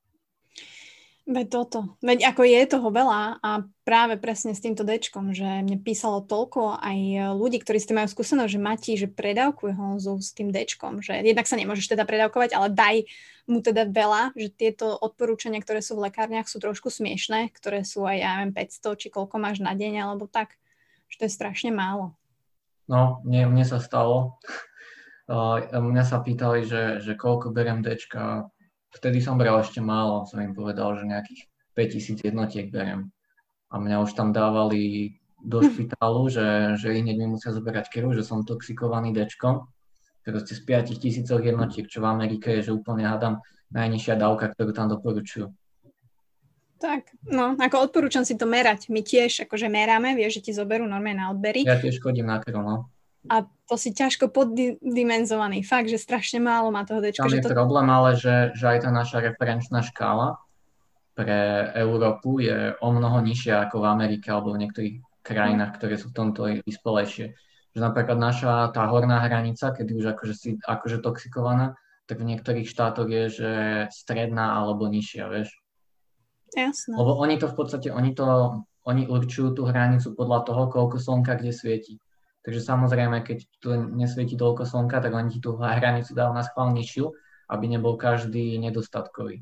Veď ako je toho veľa a práve presne s týmto Dčkom, že mne písalo toľko aj ľudí, ktorí s tým majú skúsenosť, že Mati, že predávkuj Honzu s tým Dčkom, že jednak sa nemôžeš teda predávkovať, ale daj mu teda veľa, že tieto odporúčania, ktoré sú v lekárniach, sú trošku smiešné, ktoré sú aj, ja neviem, 500, či koľko máš na deň, alebo tak, že to je strašne málo. No, mne sa stalo. Mňa sa pýtali, že koľko beriem Dčka. Vtedy som bral ešte málo, som im povedal, že nejakých 5000 jednotiek beriem. A mňa už tam dávali do špitálu, že hneď mi musia zoberať krv, že som toxikovaný Dčkom. Proste z 5000 jednotiek, čo v Amerike je, že úplne hádam najnižšia dávka, ktorú tam doporučujú. Tak, no, ako odporúčam si to merať. My tiež akože meráme, vieš, že ti zoberú normálne na odbery. Ja tiež chodím na krv, no. A to si ťažko poddimenzovaný. Fakt, že strašne málo má toho Dčka. Tam je problém, ale že aj tá naša referenčná škála pre Európu je o mnoho nižšia ako v Amerike alebo v niektorých krajinách, ktoré sú v tomto vyspelejšie. Že napríklad naša tá horná hranica, kedy už akože toxikovaná, tak v niektorých štátoch je, že stredná alebo nižšia, vieš. Jasné. Lebo oni to v podstate, oni určujú tú hranicu podľa toho, koľko slnka kde svieti. Takže samozrejme, keď tu nesvieti toľko slnka, tak oni ti tú hranicu dajú na schvál nižšiu, aby nebol každý nedostatkový.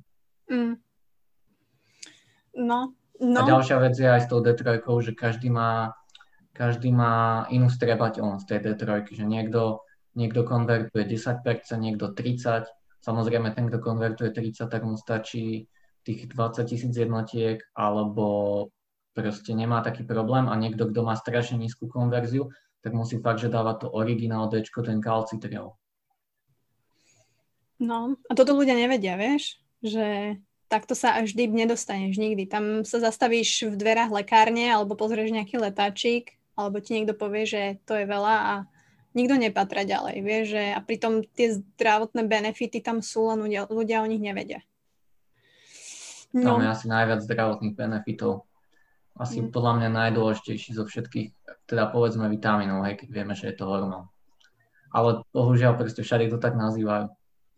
No. A ďalšia vec je aj s tou D3, že každý má inú strebateľnosť tej D3, že niekto konvertuje 10%, niekto 30%. Samozrejme, ten, kto konvertuje 30%, tak mu stačí tých 20 000 jednotiek, alebo proste nemá taký problém a niekto, kto má strašne nízku konverziu, tak musí fakt, že dáva to originál Dčko, ten kalcitriol. No, a toto ľudia nevedia, vieš, že takto sa až vždy nedostaneš nikdy. Tam sa zastavíš v dverách lekárne alebo pozrieš nejaký letáčik, alebo ti niekto povie, že to je veľa a nikto nepatra ďalej, vieš, že a pritom tie zdravotné benefity tam sú, len ľudia o nich nevedia. No. Tam je asi najviac zdravotných benefitov. Asi podľa mňa najdôležitejší zo všetkých, teda povedzme vitamínov, hej, keď vieme, že je to hormón. Ale bohužiaľ proste všade to tak nazývajú.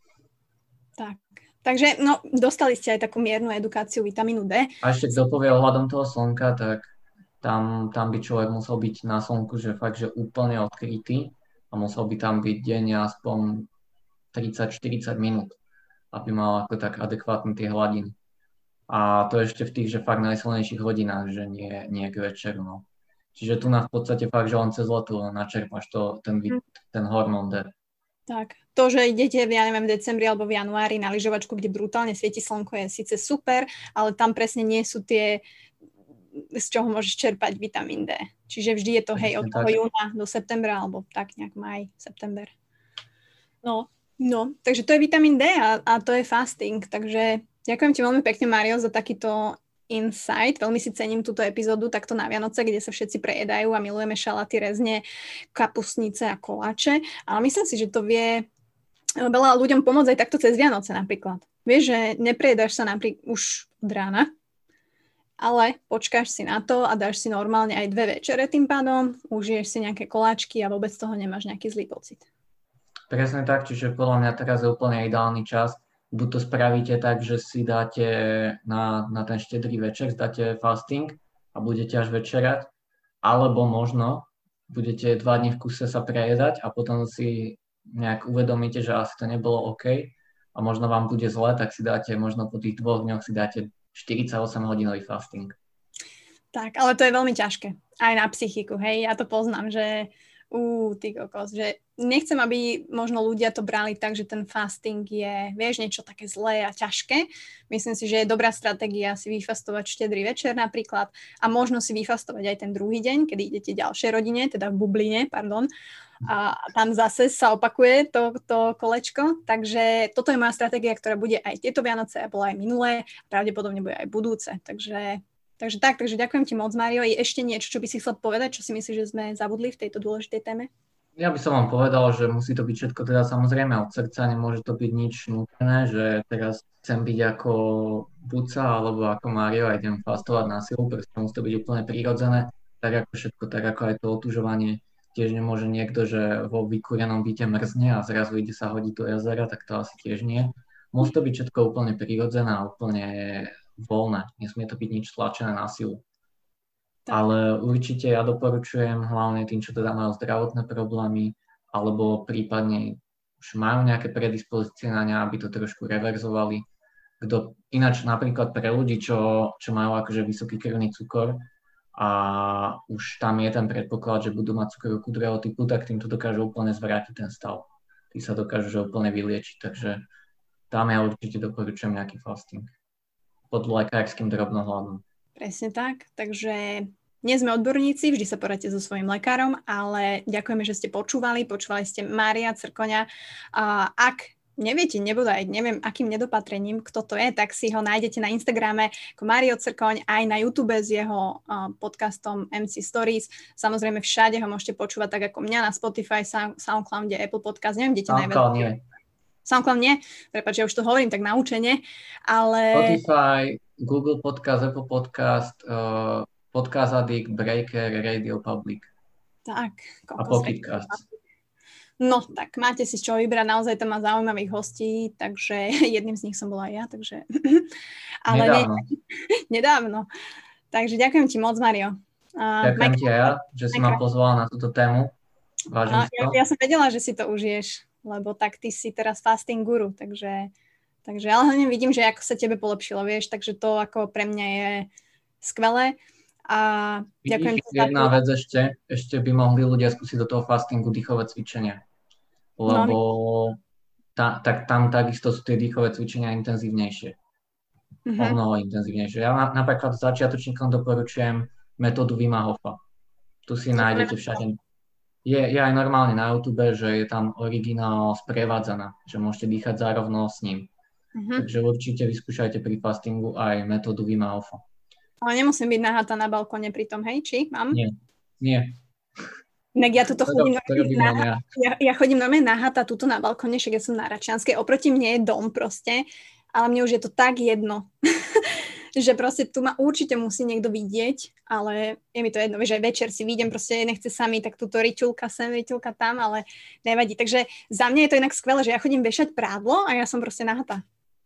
Tak. Takže, no, dostali ste aj takú miernu edukáciu vitamínu D. A ešte kto povie ohľadom toho slnka, tak tam by človek musel byť na slnku, že fakt, že úplne odkrytý a musel by tam byť denne aspoň 30-40 minút, aby mal ako tak adekvátne tie hladiny. A to ešte v tých, že fakt najsilnejších hodinách, že nie k večeru, no. Čiže tu v podstate fakt, že len cez letu načerpáš ten hormón D. Tak, to, že idete, ja neviem, v decembri alebo v januári na lyžovačku, kde brutálne svieti slnko, je síce super, ale tam presne nie sú tie, z čoho môžeš čerpať vitamín D. Čiže vždy je to, hej, od toho júna do septembra, alebo tak nejak maj, september. No, takže to je vitamín D a to je fasting, takže ďakujem ti veľmi pekne, Mário, za takýto insight. Veľmi si cením túto epizódu takto na Vianoce, kde sa všetci prejedajú a milujeme šalaty, rezne, kapustnice a koláče. Ale myslím si, že to vie veľa ľuďom pomôcť aj takto cez Vianoce napríklad. Vieš, že neprejedáš sa napríklad už od rána, ale počkáš si na to a dáš si normálne aj 2 večere tým pádom, užiješ si nejaké koláčky a vôbec z toho nemáš nejaký zlý pocit. Presne tak, čiže podľa mňa teraz je úplne ideálny čas. Buď to spravíte tak, že si dáte na ten štedrý večer, dáte fasting a budete až večerať, alebo možno budete 2 dní v kuse sa prejedať a potom si nejak uvedomíte, že asi to nebolo OK a možno vám bude zle, tak si dáte, možno po tých 2 dňoch si dáte 48-hodinový fasting. Tak, ale to je veľmi ťažké. Aj na psychiku, hej, ja to poznám, že Ty kokos, že nechcem, aby možno ľudia to brali tak, že ten fasting je, vieš, niečo také zlé a ťažké. Myslím si, že je dobrá stratégia si vyfastovať štedrý večer napríklad a možno si vyfastovať aj ten druhý deň, kedy idete ďalšej rodine, teda v bubline, pardon. A tam zase sa opakuje to kolečko. Takže toto je moja stratégia, ktorá bude aj tieto Vianoce a bola aj minulé a pravdepodobne bude aj budúce. Takže ďakujem ti moc, Mário. Je ešte niečo, čo by si chcel povedať, čo si myslíš, že sme zabudli v tejto dôležitej téme? Ja by som vám povedal, že musí to byť všetko teda samozrejme od srdca, nemôže to byť nič nútené, že teraz chcem byť ako Buca alebo ako Mário a idem fastovať na silu, proste musí to byť úplne prirodzené, tak ako všetko, tak ako aj to otužovanie. Tiež nemôže niekto, že vo vykúrenom byte mrzne a zrazu ide sa hodiť do jazera, tak to asi tiež nie. Musí to byť všetko úplne prirodzené a úplne voľné, nesmie to byť nič tlačené na silu. Tak. Ale určite ja doporučujem hlavne tým, čo teda majú zdravotné problémy alebo prípadne už majú nejaké predispozície na ne, aby to trošku reverzovali. Ináč napríklad pre ľudí, čo majú akože vysoký krvný cukor a už tam je ten predpoklad, že budú mať cukrovku druhého typu, tak týmto dokážu úplne zvrátiť ten stav. Tí sa dokážu že úplne vyliečiť, takže tam ja určite doporučujem nejaký fasting pod lekárskym drobnohľadom. Presne tak, takže nie sme odborníci, vždy sa poradíte so svojím lekárom, ale ďakujeme, že ste počúvali ste Mária Crkoňa. Ak neviete, neviem, akým nedopatrením, kto to je, tak si ho nájdete na Instagrame ako Mário Crkoň, aj na YouTube s jeho podcastom MC Stories. Samozrejme všade ho môžete počúvať tak ako mňa na Spotify, SoundCloude, Apple Podcast, neviem, kde ťa najviac. SoundCloud nie, prepáč, ja už to hovorím tak naučene, ale... Spotify, Google Podcast, Apple Podcast, Podcast Addict, Breaker, Radio Public. Tak. A Pocket Cast. No, tak máte si čo vybrať, naozaj tam má zaujímavých hostí, takže jedným z nich som bola aj ja, takže... Ale nedávno. Takže ďakujem ti moc, Mário. Ďakujem ti aj ja, že si ma pozvala na túto tému. Vážim si to. Ja som vedela, že si to užiješ, lebo tak ty si teraz fasting guru, takže ale hlavne vidím, že ako sa tebe polepšilo, vieš, takže to ako pre mňa je skvelé a ďakujem. Jedna vec ešte by mohli ľudia skúsiť do toho fastingu dýchové cvičenia, lebo tam takisto sú tie dýchové cvičenia intenzívnejšie, o mnoho intenzívnejšie. Ja napríklad začiatočníkom doporučujem metódu Wima Hofa, tu si nájdete všade. Je aj normálne na YouTube, že je tam originál sprevádzaná, že môžete dýchať zárovno s ním. Takže určite vyskúšajte pri fastingu aj metódu Wima Hofa. Ale nemusím byť nahatá na balkóne pri tom, hej? Či mám? Nie. Inak ja tuto chodím ja chodím normálne nahatá tuto na balkóne, však ja som na Račianskej, oproti mne je dom proste, ale mne už je to tak jedno. Že proste tu ma určite musí niekto vidieť, ale je mi to jedno, že aj večer si vidím, proste nechce sami, tak túto riťulka sem, riťulka tam, ale nevadí. Takže za mňa je to inak skvelé, že ja chodím vešať prádlo a ja som proste nahatá.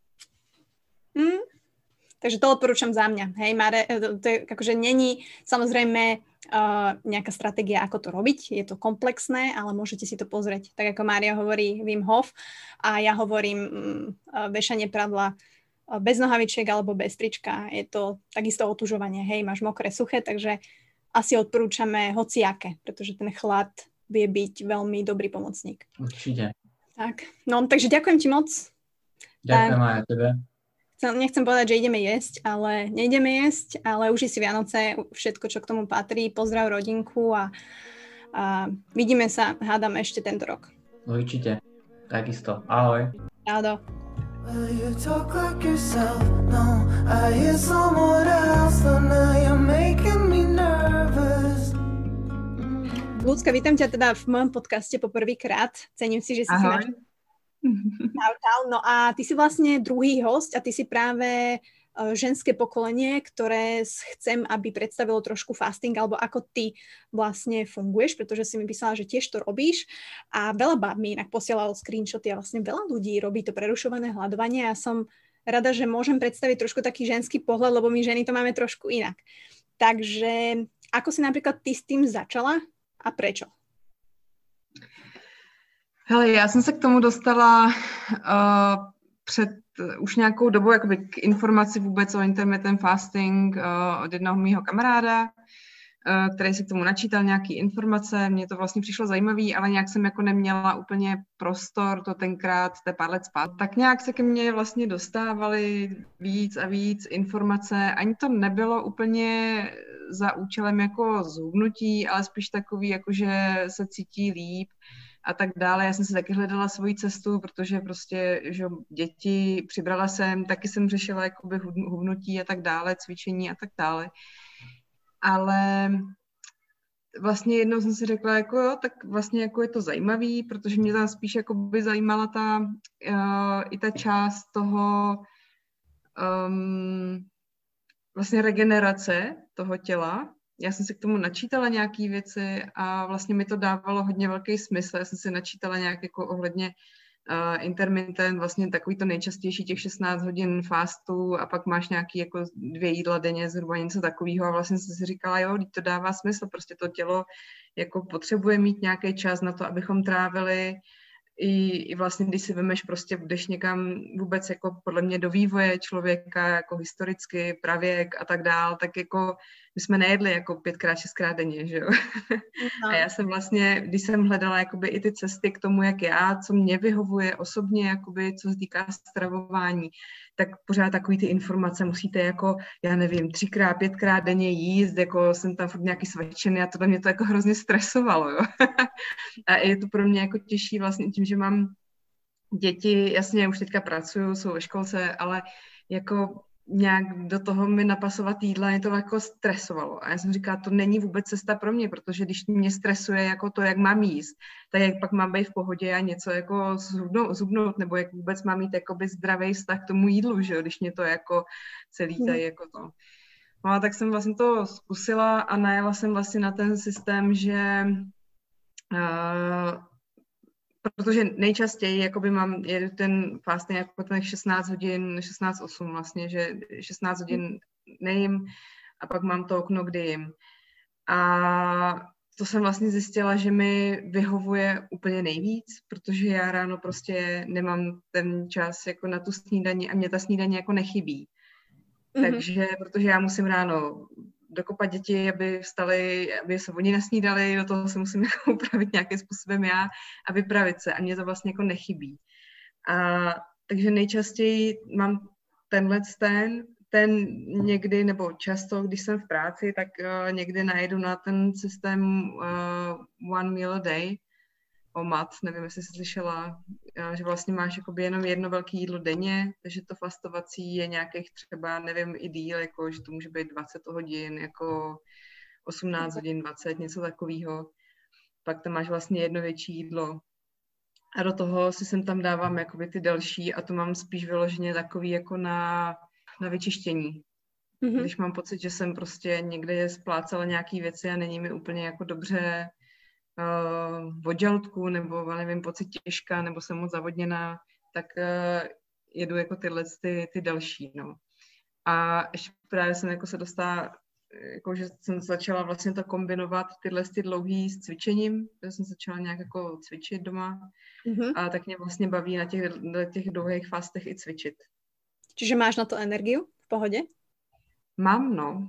Takže to odporúčam za mňa. Hej, Mare, to je akože není samozrejme nejaká stratégia, ako to robiť. Je to komplexné, ale môžete si to pozrieť. Tak ako Mária hovorí Wim Hof a ja hovorím vešanie prádla bez nohavičiek alebo bez trička. Je to takisto otužovanie. Hej, máš mokré, suché, takže asi odporúčame hociaké, pretože ten chlad vie byť veľmi dobrý pomocník. Určite. Tak, no, takže ďakujem ti moc. Ďakujem aj tebe. Nechcem povedať, že ideme jesť, ale nejdeme jesť, ale uži si Vianoce, všetko, čo k tomu patrí. Pozdrav rodinku a vidíme sa, hádam, ešte tento rok. Určite. Takisto. Ahoj. Ahoj. Well, you talk like yourself, no, I hear someone else, so now you're making me nervous. Ľudská, vítam ťa teda v mojom podcaste poprvýkrát. Cením si, že si Ahoj. Čau. No a ty si vlastne druhý host a ty si práve ženské pokolenie, ktoré chcem, aby predstavilo trošku fasting, alebo ako ty vlastne funguješ, pretože si mi písala, že tiež to robíš a veľa báb mi inak posielalo screenshoty a vlastne veľa ľudí robí to prerušované hľadovanie a som rada, že môžem predstaviť trošku taký ženský pohľad, lebo my ženy to máme trošku inak. Takže ako si napríklad ty s tým začala a prečo? Hele, já jsem se k tomu dostala před už nějakou dobu jakoby k informaci vůbec o intermittent fasting od jednoho mýho kamaráda, který si k tomu načítal nějaký informace, mně to vlastně přišlo zajímavý, ale nějak jsem jako neměla úplně prostor to tenkrát, to je pár let zpátky. Tak nějak se ke mně vlastně dostávaly víc a víc informace, ani to nebylo úplně za účelem jako zhubnutí, ale spíš takový, jako že se cítí líp a tak dále. Já jsem si taky hledala svoji cestu, protože prostě, že děti přibrala jsem, taky jsem řešila jakoby hubnutí a tak dále, cvičení a tak dále. Ale vlastně jednou jsem si řekla, jako jo, tak vlastně jako je to zajímavý, protože mě tam spíš jako by zajímala i ta část toho vlastně regenerace toho těla. Já jsem si k tomu načítala nějaké věci a vlastně mi to dávalo hodně velký smysl. Já jsem si načítala nějak jako ohledně intermittent, vlastně takový to nejčastější těch 16 hodin fastu a pak máš nějaký jako 2 jídla denně, zhruba něco takového a vlastně jsem si říkala, jo, to dává smysl, prostě to tělo jako potřebuje mít nějaký čas na to, abychom trávili i vlastně, když si vemeš prostě, jdeš někam vůbec jako podle mě do vývoje člověka, jako historicky, pravěk a tak dál, tak jako my jsme nejedli jako 5x, 6x denně, že jo? No. A já jsem vlastně, když jsem hledala jakoby i ty cesty k tomu, jak já, co mě vyhovuje osobně, jakoby, co se týká stravování, tak pořád takový ty informace musíte jako, já nevím, 3x, 5x denně jíst, jako jsem tam furt nějaký svačený a tohle mě to jako hrozně stresovalo, jo? A je to pro mě jako těžší vlastně tím, že mám děti, jasně, už teďka pracuju, jsou ve školce, ale jako nějak do toho mi napasovat jídla, mě to jako stresovalo. A já jsem říkala, to není vůbec cesta pro mě, protože když mě stresuje jako to, jak mám jíst, tak jak pak mám být v pohodě a něco jako zhubnout, nebo jak vůbec mám mít jakoby zdravý vztah k tomu jídlu, že jo, když mě to jako celý tady jako to. No a tak jsem vlastně to zkusila a najela jsem vlastně na ten systém, že protože nejčastěji jakoby jedu ten fasting jako těch 16 hodin, 16-8 vlastně, že 16 hodin nejím a pak mám to okno, kdy jim. A to jsem vlastně zjistila, že mi vyhovuje úplně nejvíc, protože já ráno prostě nemám ten čas jako na tu snídani a mě ta snídaně jako nechybí. Takže, protože já musím ráno dokopat děti, aby vstali, aby se oni nasnídali, do toho se musím jako upravit nějakým způsobem já a vypravit se a mě to vlastně jako nechybí. Takže nejčastěji mám ten někdy, nebo často, když jsem v práci, tak někdy najedu na ten systém one meal a day, OMAD, nevím, jestli jsi slyšela, že vlastně máš jakoby jenom jedno velké jídlo denně, takže to fastovací je nějakých třeba, nevím, i díl, jako, že to může být 20 hodin, jako 18 hodin, 20, něco takového. Pak tam máš vlastně jedno větší jídlo. A do toho si sem tam dávám jakoby ty další a to mám spíš vyloženě takový jako na vyčištění. Když mám pocit, že jsem prostě někde splácala nějaký věci a není mi úplně jako dobře v žaludku, nebo nevím, pocit těžka, nebo jsem moc zavodněná, tak jedu jako tyhle ty další, no. A ještě právě jsem jako se dostala, jako že jsem začala vlastně to kombinovat tyhle ty dlouhý s cvičením, že jsem začala nějak jako cvičit doma a tak mě vlastně baví na těch dlouhých fastech i cvičit. Čiže máš na to energiu v pohode? Mám, no.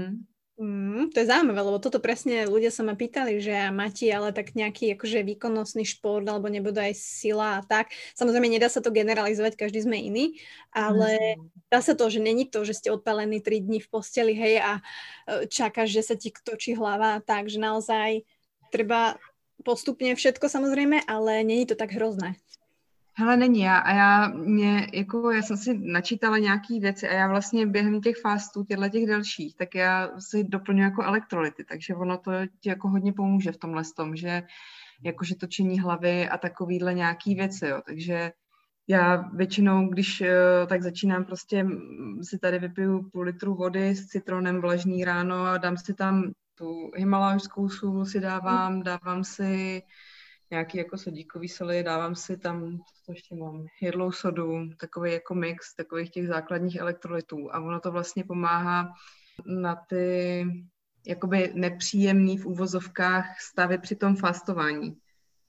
To je zaujímavé, lebo toto presne ľudia sa ma pýtali, že máte ale tak nejaký akože výkonnostný šport alebo nebude aj sila a tak. Samozrejme, nedá sa to generalizovať, každý sme iný, ale dá sa to, že není to, že ste odpálení 3 dní v posteli, hej, a čakáš, že sa ti točí hlava, takže naozaj treba postupne všetko samozrejme, ale není to tak hrozné. Hele, není já jsem si načítala nějaký věci a já vlastně během těch fastů, těch dalších, tak já si doplňuji jako elektrolyty, takže ono to ti jako hodně pomůže v tomhle tom, že jakože točení hlavy a takovýhle nějaký věci, jo, takže já většinou, když tak začínám prostě, si tady vypiju půl litru vody s citronem vlažný ráno a dám si tam tu himalajskou sůl si dávám si nějaký jako sodíkový soli, dávám si tam, co ještě mám, jedlou sodu, takový jako mix takových těch základních elektrolytů a ono to vlastně pomáhá na ty jakoby nepříjemný v úvozovkách stavy při tom fastování.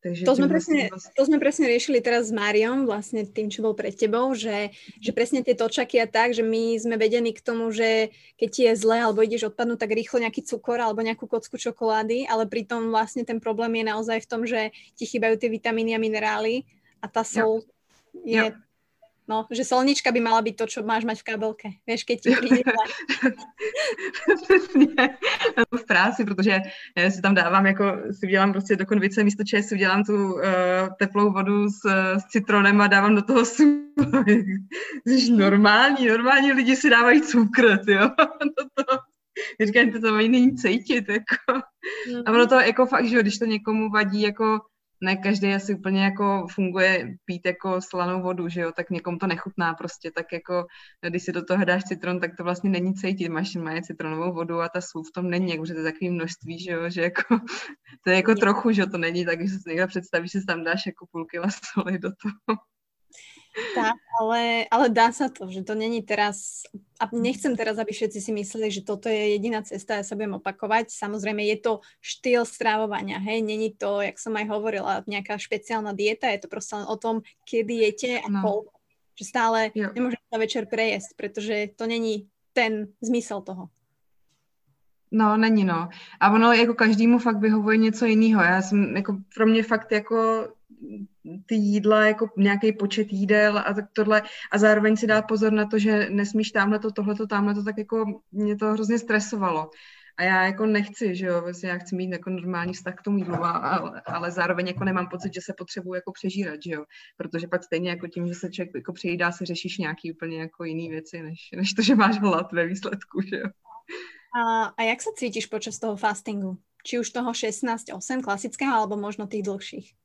Takže To sme presne riešili teraz s Máriom, vlastne tým, čo bol pred tebou, že presne tie točaky a tak, že my sme vedení k tomu, že keď ti je zle alebo ideš odpadnúť, tak rýchlo nejaký cukor alebo nejakú kocku čokolády, ale pritom vlastne ten problém je naozaj v tom, že ti chýbajú tie vitamíny a minerály a tá sol je... No, že solnička by mala byť to, čo máš mať v kabelke. Vieš, keď ti príde zle. Přesně. V práci, protože já si tam dávám, jako si udělám prostě do konvice místo čaje, si udělám tu teplou vodu s citronem a dávám do toho sůl. Jsi normální lidi si dávají cukr, jo. Říkám, to mají není cítit, jako. A ono to jako fakt, že když to někomu vadí, jako ne každý asi úplně jako funguje pít jako slanou vodu, že jo, tak někomu to nechutná prostě, tak jako když si do toho dáš citron, tak to vlastně není cítit, máš citronovou vodu a ta sůl v tom není, jako, že to je takové množství, že jo, že jako to je jako trochu, že to není tak, že si někdo představí, že si tam dáš jako půl kila soli do toho. Tak, ale dá sa to, že to není teraz, a nechcem teraz, aby všetci si mysleli, že toto je jediná cesta, ja sa budem opakovať. Samozrejme, je to štýl strávovania, hej, není to, jak som aj hovorila, nejaká špeciálna dieta, je to proste len o tom, kedy jete a koľko. Že stále nemôžete sa večer prejesť, pretože to není ten zmysel toho. No, není, no. A ono jako každému fakt vyhovuje něco jiného. Já jsem, jako pro mě fakt jako ty jídla, jako nějaký počet jídel a tak tohle a zároveň si dát pozor na to, že nesmíš tamhleto, tamhleto, tak jako mě to hrozně stresovalo. A já jako nechci, že jo, vlastně já chci mít jako normální vztah k tomu jídlu, ale zároveň jako nemám pocit, že se potřebuji jako přežírat, že jo, protože pak stejně jako tím, že se člověk jako přejídá, se řešíš nějaký úplně jako jiný věci, než to, že máš hlad ve výsledku, že jo. A jak sa cítiš počas toho fastingu? Či už toho 16-8 klasického, alebo možno tých dlhších?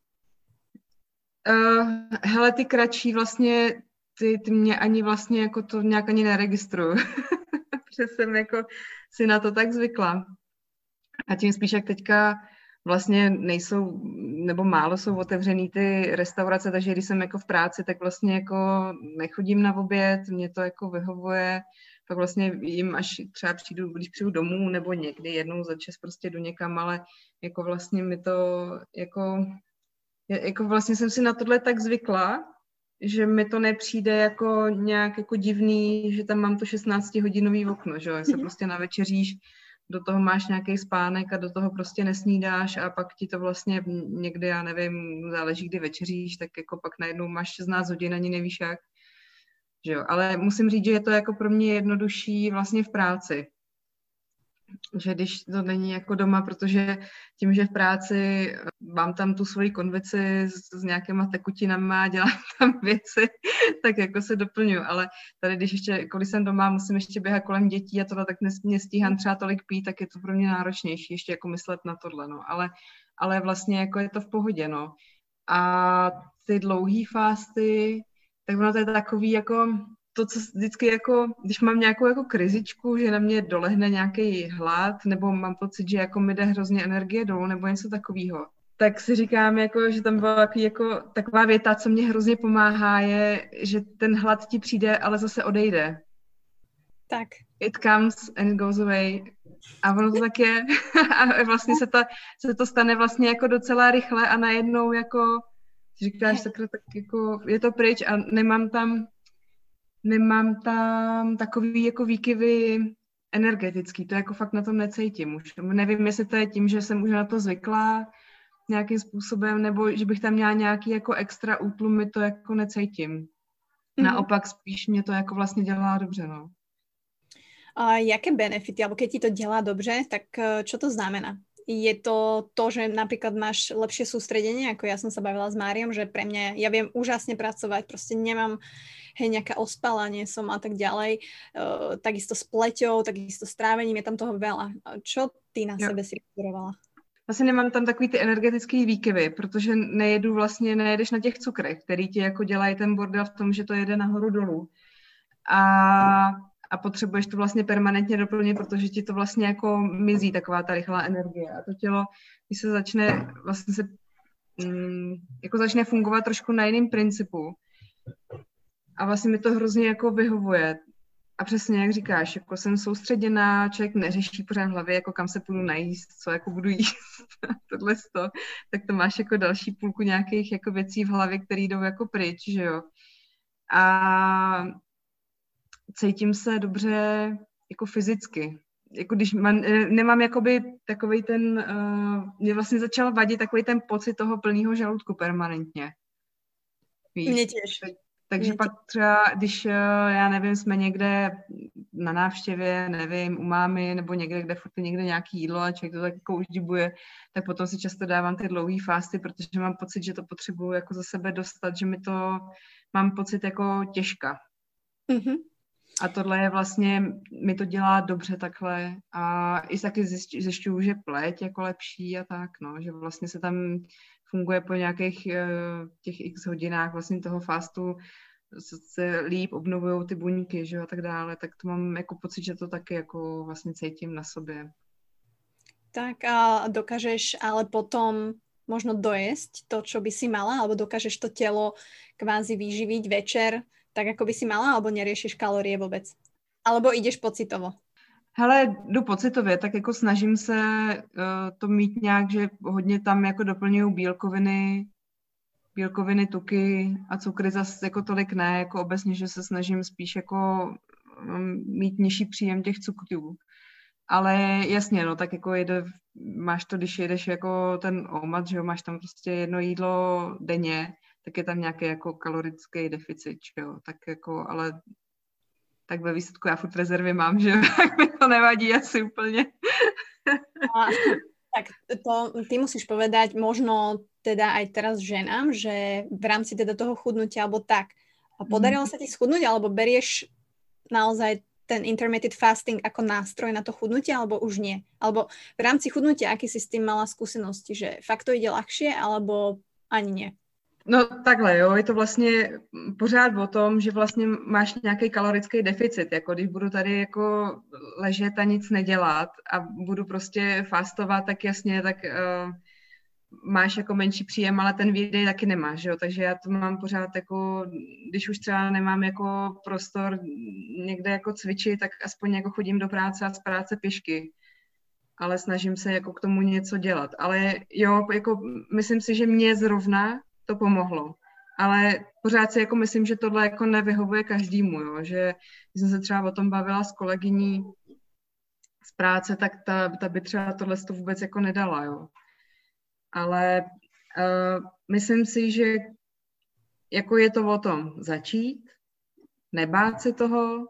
Hele, ty kratší vlastně, ty mě ani vlastně jako to nějak ani neregistruju. Protože jsem jako si na to tak zvykla. A tím spíš, jak teďka vlastně nejsou, nebo málo jsou otevřený ty restaurace, takže když jsem jako v práci, tak vlastně jako nechodím na oběd, mě to jako vyhovuje, pak vlastně jim až třeba když přijdu domů, nebo někdy jednou za čas prostě jdu někam, ale jako vlastně mi to jako vlastně jsem si na tohle tak zvykla, že mi to nepřijde jako nějak jako divný, že tam mám to 16-hodinový okno, že jo, se prostě navečeříš, do toho máš nějaký spánek a do toho prostě nesnídáš a pak ti to vlastně někdy, já nevím, záleží, kdy večeříš, tak jako pak najednou máš 16 hodin, ani nevíš jak, že jo, ale musím říct, že je to jako pro mě jednodušší vlastně v práci. Že když to není jako doma, protože tím, že v práci mám tam tu svoji konvici s nějakýma tekutinama, dělám tam věci, tak jako se doplňuji, ale tady, když jsem doma, musím ještě běhat kolem dětí a tohle, tak nestíhám třeba tolik pít, tak je to pro mě náročnější ještě jako myslet na tohle, no, ale vlastně jako je to v pohodě, no. A ty dlouhý fásty, tak ono to je takový jako to, co vždycky jako, když mám nějakou jako krizičku, že na mě dolehne nějaký hlad, nebo mám pocit, že jako mi jde hrozně energie dolů, nebo něco takového, tak si říkám, jako, že tam byla jako taková věta, co mě hrozně pomáhá, je, že ten hlad ti přijde, ale zase odejde. Tak. It comes and goes away. A ono to tak je. A vlastně se to stane vlastně jako docela rychle a najednou jako říkáš, tak jako je to pryč a nemám tam takový jako výkyvy energetický, to jako fakt na tom necítím už. Nevím, jestli to je tím, že jsem už na to zvykla nějakým způsobem, nebo že bych tam měla nějaký jako extra útlumy, to jako necítím. Naopak spíš mě to jako vlastně dělá dobře, no. A jaké benefity, alebo keď ti to dělá dobře, tak čo to znamená? Je to to, že napríklad máš lepšie sústredenie, ako ja som sa bavila s Máriom, že pre mňa, ja viem úžasne pracovať, proste nemám nejaká ospala, nie som a tak ďalej. Takisto s pleťou, takisto s trávením, je tam toho veľa. Čo ty na sebe si pozorovala? Vlastně nemám tam takový ty energetický výkyvy, protože nejedeš na těch cukrech, který ti jako dělají ten bordel v tom, že to jede nahoru dolů. A potřebuješ to vlastně permanentně doplnit, protože ti to vlastně jako mizí taková ta rychlá energie. A to tělo, když se začne vlastně začne fungovat trošku na jiném principu. A vlastně mi to hrozně jako vyhovuje. A přesně jak říkáš, jako jsem soustředěná, člověk neřeší pořád v hlavě, jako kam se půjdu najíst, co jako budu jíst, tohle tak to máš jako další půlku nějakých jako věcí v hlavě, které jdou jako pryč, že jo. A cítím se dobře jako fyzicky. Jako když nemám jakoby takovej ten, mě vlastně začal vadit takový ten pocit toho plného žaludku permanentně. Víš? Mně těž. Takže pak třeba, když, já nevím, jsme někde na návštěvě, nevím, u mámy, nebo někde, kde furt je někde nějaký jídlo a člověk to tak jako uždibuje, tak potom si často dávám ty dlouhý fásty, protože mám pocit, že to potřebuju jako za sebe dostat, že mám pocit jako těžka. Mm-hmm. A tohle je vlastně, mi to dělá dobře takhle a i taky zjišťuju, že pleť jako lepší a tak, no, že vlastně se tam funguje po nějakých těch x hodinách vlastně toho fastu, se líp obnovují ty buňky, že jo, a tak dále, tak to mám jako pocit, že to taky jako vlastně cítím na sobě. Tak a dokážeš ale potom možno dojesť to, čo by si mala, alebo dokážeš to telo kvázi vyživiť večer, tak ako by si mala, alebo neriešiš kalórie vôbec? Alebo ideš pocitovo? Hele, jdu pocitově, tak jako snažím se to mít nějak, že hodně tam jako doplňuju bílkoviny, tuky a cukry zase jako tolik ne, jako obecně, že se snažím spíš jako mít nižší příjem těch cukrů. Ale jasně, no, tak jako máš to, když jedeš jako ten OMAD, že jo, máš tam prostě jedno jídlo denně, tak je tam nějaký jako kalorický deficit, jo, tak jako, ale tak ve výsledku já furt rezervy mám, že tak mi to nevadí asi úplně. Tak to ty musíš povedať možno teda aj teraz ženám, že v rámci teda toho chudnutia alebo tak. A podarilo sa ti schudnúť, alebo berieš naozaj ten intermittent fasting ako nástroj na to chudnutie, alebo už nie? Alebo v rámci chudnutia, aký si s tým mala skúsenosti, že fakt to ide ľahšie, alebo ani nie? No takhle, jo, je to vlastně pořád o tom, že vlastně máš nějaký kalorický deficit, jako když budu tady jako ležet a nic nedělat a budu prostě fastovat, tak jasně, tak máš jako menší příjem, ale ten výdej taky nemáš, jo, takže já to mám pořád jako, když už třeba nemám jako prostor někde jako cvičit, tak aspoň jako chodím do práce a z práce pěšky, ale snažím se jako k tomu něco dělat, ale jo, jako myslím si, že mě zrovna to pomohlo. Ale pořád si jako myslím, že tohle jako nevyhovuje každému, jo? Že když jsem se třeba o tom bavila s kolegyní z práce, tak ta by třeba tohle to vůbec jako nedala, jo. Ale myslím si, že jako je to o tom začít, nebát se toho,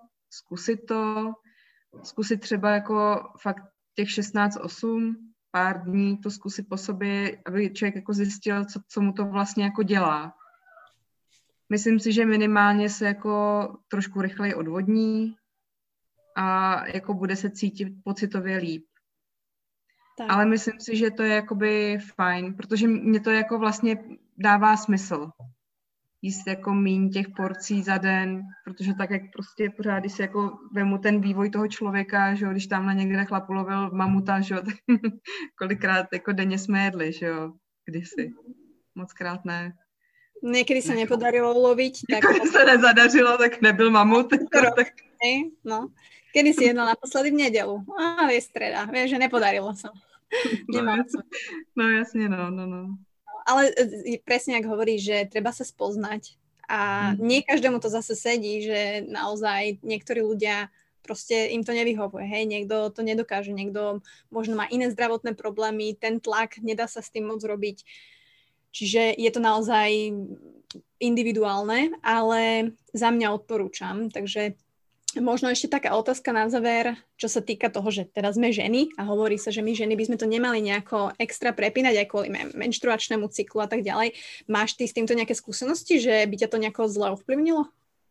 zkusit třeba jako fakt těch 16-8, pár dní to zkusit po sobě, aby člověk jako zjistil, co mu to vlastně jako dělá. Myslím si, že minimálně se jako trošku rychleji odvodní a jako bude se cítit pocitově líp. Tak. Ale myslím si, že to je jakoby fajn, protože mě to jako vlastně dává smysl. Jíst jako míň těch porcí za den, protože tak, jak prostě pořád, když si jako vemu ten vývoj toho člověka, že jo, když tamhle někde chlap ulovil mamuta, že jo, tak kolikrát jako denně jsme jedli, že jo, kdysi. Mockrát ne. Niekedy sa nepodarilo uloviť. Tak sa nezadařilo, tak nebyl mamut. Tak... No. Kedy si jedla naposledy v nedelu? Je streda, vieš, že nepodarilo sa. No jasne, no. Ale presne, ak hovoríš, že treba sa spoznať a nie každému to zase sedí, že naozaj niektorí ľudia proste im to nevyhovuje, hej, niekto to nedokáže, niekto možno má iné zdravotné problémy, ten tlak, nedá sa s tým moc robiť. Čiže je to naozaj individuálne, ale za mňa odporúčam. Takže možno ešte taká otázka na záver, čo sa týka toho, že teraz sme ženy a hovorí sa, že my ženy by sme to nemali nejako extra prepínať aj kvôli menštruačnému cyklu a tak ďalej. Máš ty s týmto nejaké skúsenosti, že by ťa to nejako zle ovplyvnilo?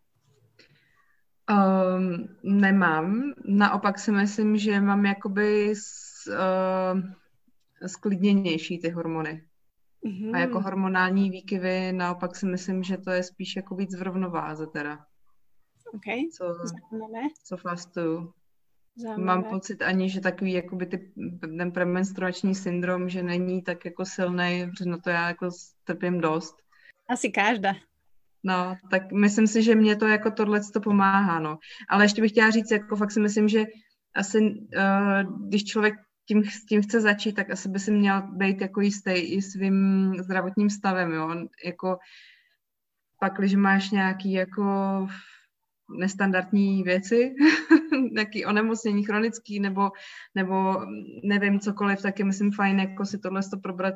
Nemám. Naopak si myslím, že mám jakoby sklidněnější ty hormony. Mm-hmm. A jako hormonální výkyvy, naopak si myslím, že to je spíš jako víc v rovnováze teda. Okay. Co fastuju. Mám pocit ani, že takový jakoby ten premenstruační syndrom, že není tak jako silnej, protože na to já jako trpím dost. Asi každá. No, tak myslím si, že mě to jako tohleto pomáhá, no. Ale ještě bych chtěla říct, jako fakt si myslím, že asi, když člověk tím chce začít, tak asi by si měl být jako jistý i svým zdravotním stavem, jo. Jako pak, když máš nějaký jako nestandardní věci, nějaký onemocnění chronický, nebo nevím, cokoliv, tak je myslím fajn jako si tohle probrat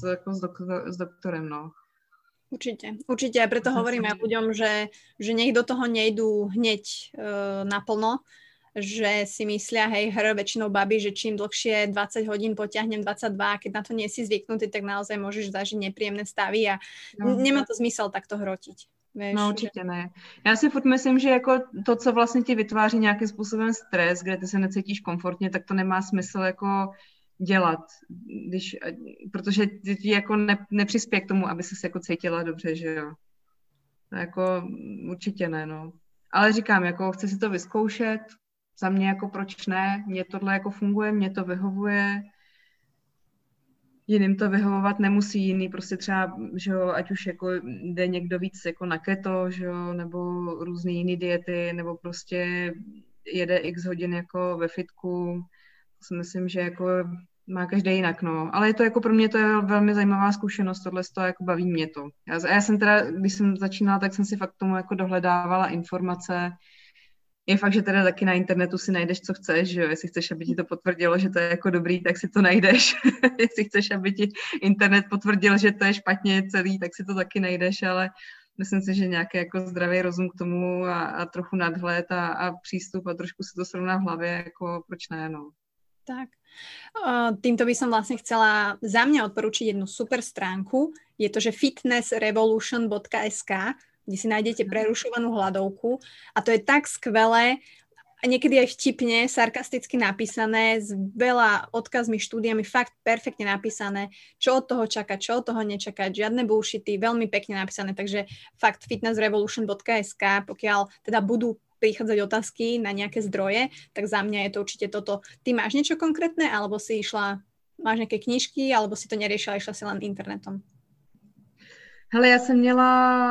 s doktorem, no. Určite, a preto hovorím aj ľuďom, že nech do toho nejdú hneď naplno, že si myslia, väčšinou babi, že čím dlhšie 20 hodín potiahnem 22, a keď na to nie si zvyknutý, tak naozaj môžeš zažiť nepríjemné stavy a nemá to zmysel takto hrotiť. Víš, no určitě ne. Já si furt myslím, že jako to, co vlastně ti vytváří nějakým způsobem stres, kde ty se necítíš komfortně, tak to nemá smysl jako dělat, protože ti jako nepřispěje k tomu, aby ses jako cítila dobře, že jo. To jako určitě ne, no. Ale říkám, jako chci si to vyzkoušet, za mě jako proč ne, mně tohle jako funguje, mně to vyhovuje, jiným to vyhovovat nemusí, jiný prostě třeba, že jo, ať už jako jde někdo víc jako na keto, že jo, nebo různé jiné diety, nebo prostě jede x hodin jako ve fitku, si myslím, že jako má každý jinak, no. Ale je to jako pro mě to je velmi zajímavá zkušenost, tohle to jako baví mě to. Já jsem teda, když jsem začínala, tak jsem si fakt tomu jako dohledávala informace. Je fakt, že teda taky na internetu si najdeš, co chceš, že jo, jestli chceš, aby ti to potvrdilo, že to je jako dobrý, tak si to najdeš. Jestli chceš, aby ti internet potvrdil, že to je špatně celý, tak si to taky najdeš, ale myslím si, že nějaký jako zdravý rozum k tomu a trochu nadhled a přístup a trošku si to srovná v hlavě, jako proč ne, no. Tak. Týmto by som vlastne chcela za mňa odporučiť jednu super stránku. Je to, že fitnessrevolution.sk, kde si nájdete prerušovanú hladovku a to je tak skvelé a niekedy aj vtipne, sarkasticky napísané, s veľa odkazmi, štúdiami, fakt perfektne napísané, čo od toho čakať, čo od toho nečakať, žiadne bullshity, veľmi pekne napísané, takže fakt fitnessrevolution.sk, pokiaľ teda budú prichádzať otázky na nejaké zdroje, tak za mňa je to určite toto. Ty máš niečo konkrétne, alebo si máš nejaké knižky, alebo si to neriešila, išla si len internetom? Hele, já jsem měla,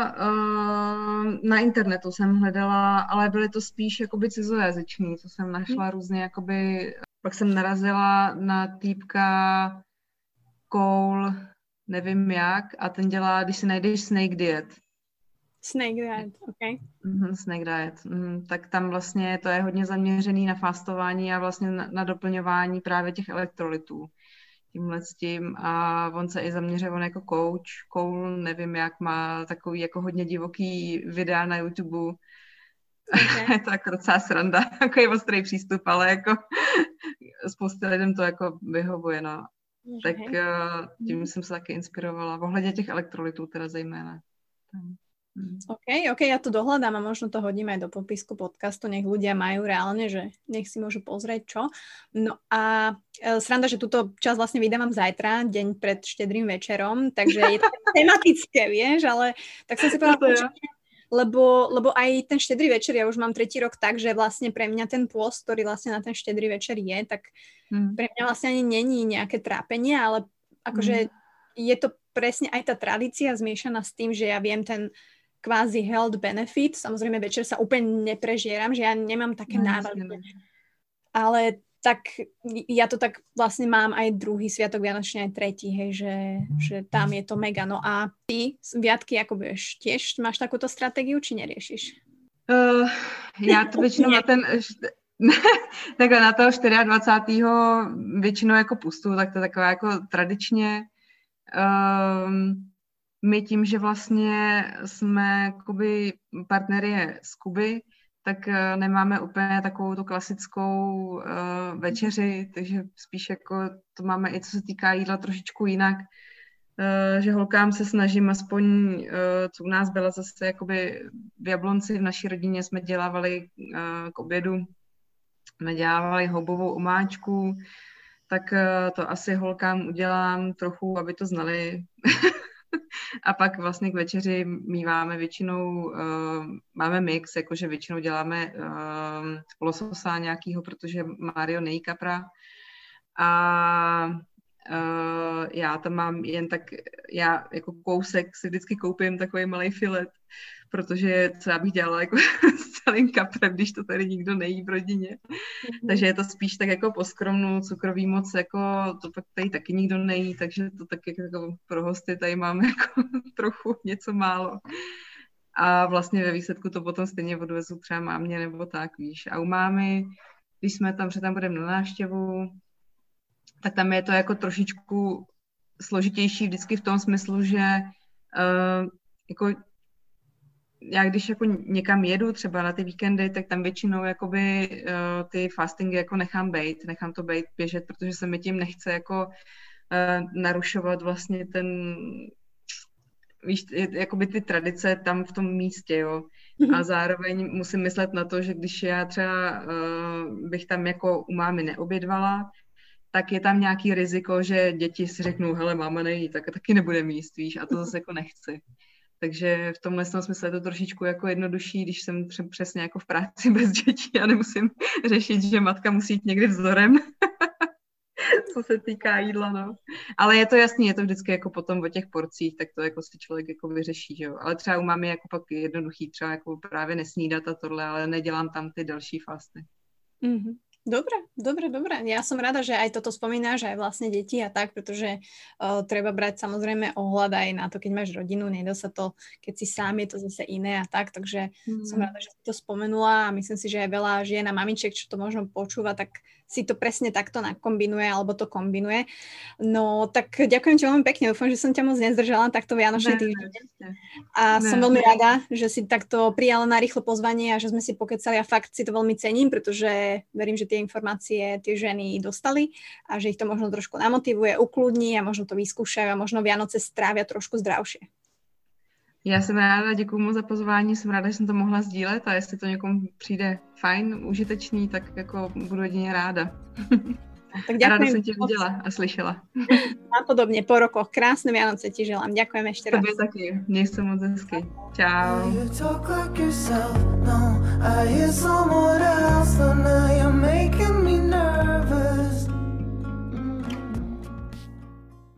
na internetu jsem hledala, ale byly to spíš jakoby cizojazyční, co jsem našla různě jakoby, pak jsem narazila na týpka Cole, nevím jak, a ten dělá, když si najdeš Snake Diet. Snake Diet, ok. Snake Diet, tak tam vlastně to je hodně zaměřený na fastování a vlastně na doplňování právě těch elektrolytů. Tímhle s tím a on se i zaměřuje, on jako coach, Cole, nevím jak, má takový jako hodně divoký videa na YouTube. Okay. Je to jako docela sranda, takový ostrý přístup, ale jako spoustě lidem to jako vyhovuje, no. Okay. Tak tím jsem se taky inspirovala, ohledně těch elektrolytů teda zejména. OK, ja to dohľadám a možno to hodíme aj do popisku podcastu, nech ľudia majú reálne, že nech si môžu pozrieť čo. No a sranda, že túto časť vlastne vydávam zajtra, deň pred štedrým večerom, takže je to tematické, vieš, ale tak som si povedala, lebo aj ten štedrý večer, ja už mám 3. rok tak, že vlastne pre mňa ten pôst, ktorý vlastne na ten štedrý večer je, tak pre mňa vlastne ani není nejaké trápenie, ale akože je to presne aj tá tradícia zmiešaná s tým, že ja viem ten kvázi health benefit. Samozrejme, večer sa úplne neprežieram, že ja nemám také návady. Ale tak ja to tak vlastne mám aj druhý sviatok Vianočný, aj tretí, hej, že tam je to mega. No a ty, Viatky, ako budeš, tiež máš takúto stratégiu, či neriešiš? Já to většinou na ten... takhle na toho 24. většinou jako pustu, tak to taková jako tradičně... My tím, že vlastně jsme jakoby partnery z Kuby, tak nemáme úplně takovou tu klasickou večeři, takže spíš jako to máme i co se týká jídla trošičku jinak, že holkám se snažím aspoň, co u nás byla zase jakoby v Jablonci, v naší rodině jsme dělávali k obědu, jsme dělávali houbovou omáčku, tak to asi holkám udělám trochu, aby to znali. A pak vlastně k večeři míváme většinou, máme mix, jakože většinou děláme lososa nějakýho, protože Mário nejí kapra. A já tam mám jen tak, já jako kousek si vždycky koupím takový malý filet, protože co já bych dělala jako s celým kaprem, když to tady nikdo nejí v rodině. Takže je to spíš tak jako poskromnu, cukrový moc, jako to pak tady taky nikdo nejí, takže to tak jako pro hosty tady máme jako trochu něco málo. A vlastně ve výsledku to potom stejně odvezu třeba mámě nebo tak, víš. A u mámy, když jsme tam, že tam budeme na návštěvu, tak tam je to jako trošičku složitější vždycky v tom smyslu, že jako já když jako někam jedu třeba na ty víkendy, tak tam většinou jakoby ty fastingy jako nechám to bejt, běžet, protože se mi tím nechce jako narušovat vlastně ten, víš, jakoby ty tradice tam v tom místě, jo. A zároveň musím myslet na to, že když já třeba bych tam jako u mámy neobědvala, tak je tam nějaký riziko, že děti si řeknou, hele, máma nejí, tak taky nebude míst, víš, a to zase jako nechci. Takže v tomhle smyslu je to trošičku jako jednodušší, když jsem přesně jako v práci bez dětí a nemusím řešit, že matka musí jít někdy vzorem, co se týká jídla, no. Ale je to jasný, je to vždycky jako potom o těch porcích, tak to jako si člověk jako vyřeší, že jo. Ale třeba u mámy jako pak jednoduchý, třeba jako právě nesnídat a tohle, ale nedělám tam ty další fasty. Mm-hmm. Dobre. Ja som rada, že aj toto spomínaš, aj vlastne deti a tak, pretože treba brať samozrejme ohľad aj na to, keď máš rodinu, nedá sa to, keď si sám, je to zase iné a tak, takže som rada, že si to spomenula a myslím si, že aj veľa žien a mamičiek, čo to možno počúva, tak si to presne takto nakombinuje alebo to kombinuje. No tak ďakujem ti veľmi pekne, dúfam, že som ťa moc nezdržala takto vianočný týždeň. A som veľmi rada, že si takto prijala na rýchlo pozvanie a že sme si pokecali a fakt si to veľmi cením, pretože verím, že tie informácie tie ženy dostali a že ich to možno trošku namotivuje, ukludní a možno to vyskúšajú a možno Vianoce strávia trošku zdravšie. Já jsem ráda, děkuju moc za pozvání, jsem ráda, že jsem to mohla sdílet a jestli to někomu přijde fajn, užitečný, tak jako budu jedině ráda. Tak ďakujem. Ráda som ťa videla a slyšela. Napodobne po rokoch. Krásne Vianoce ti želám. Ďakujem ešte raz. Tobě taky. Měj sa moc hezky. Čau.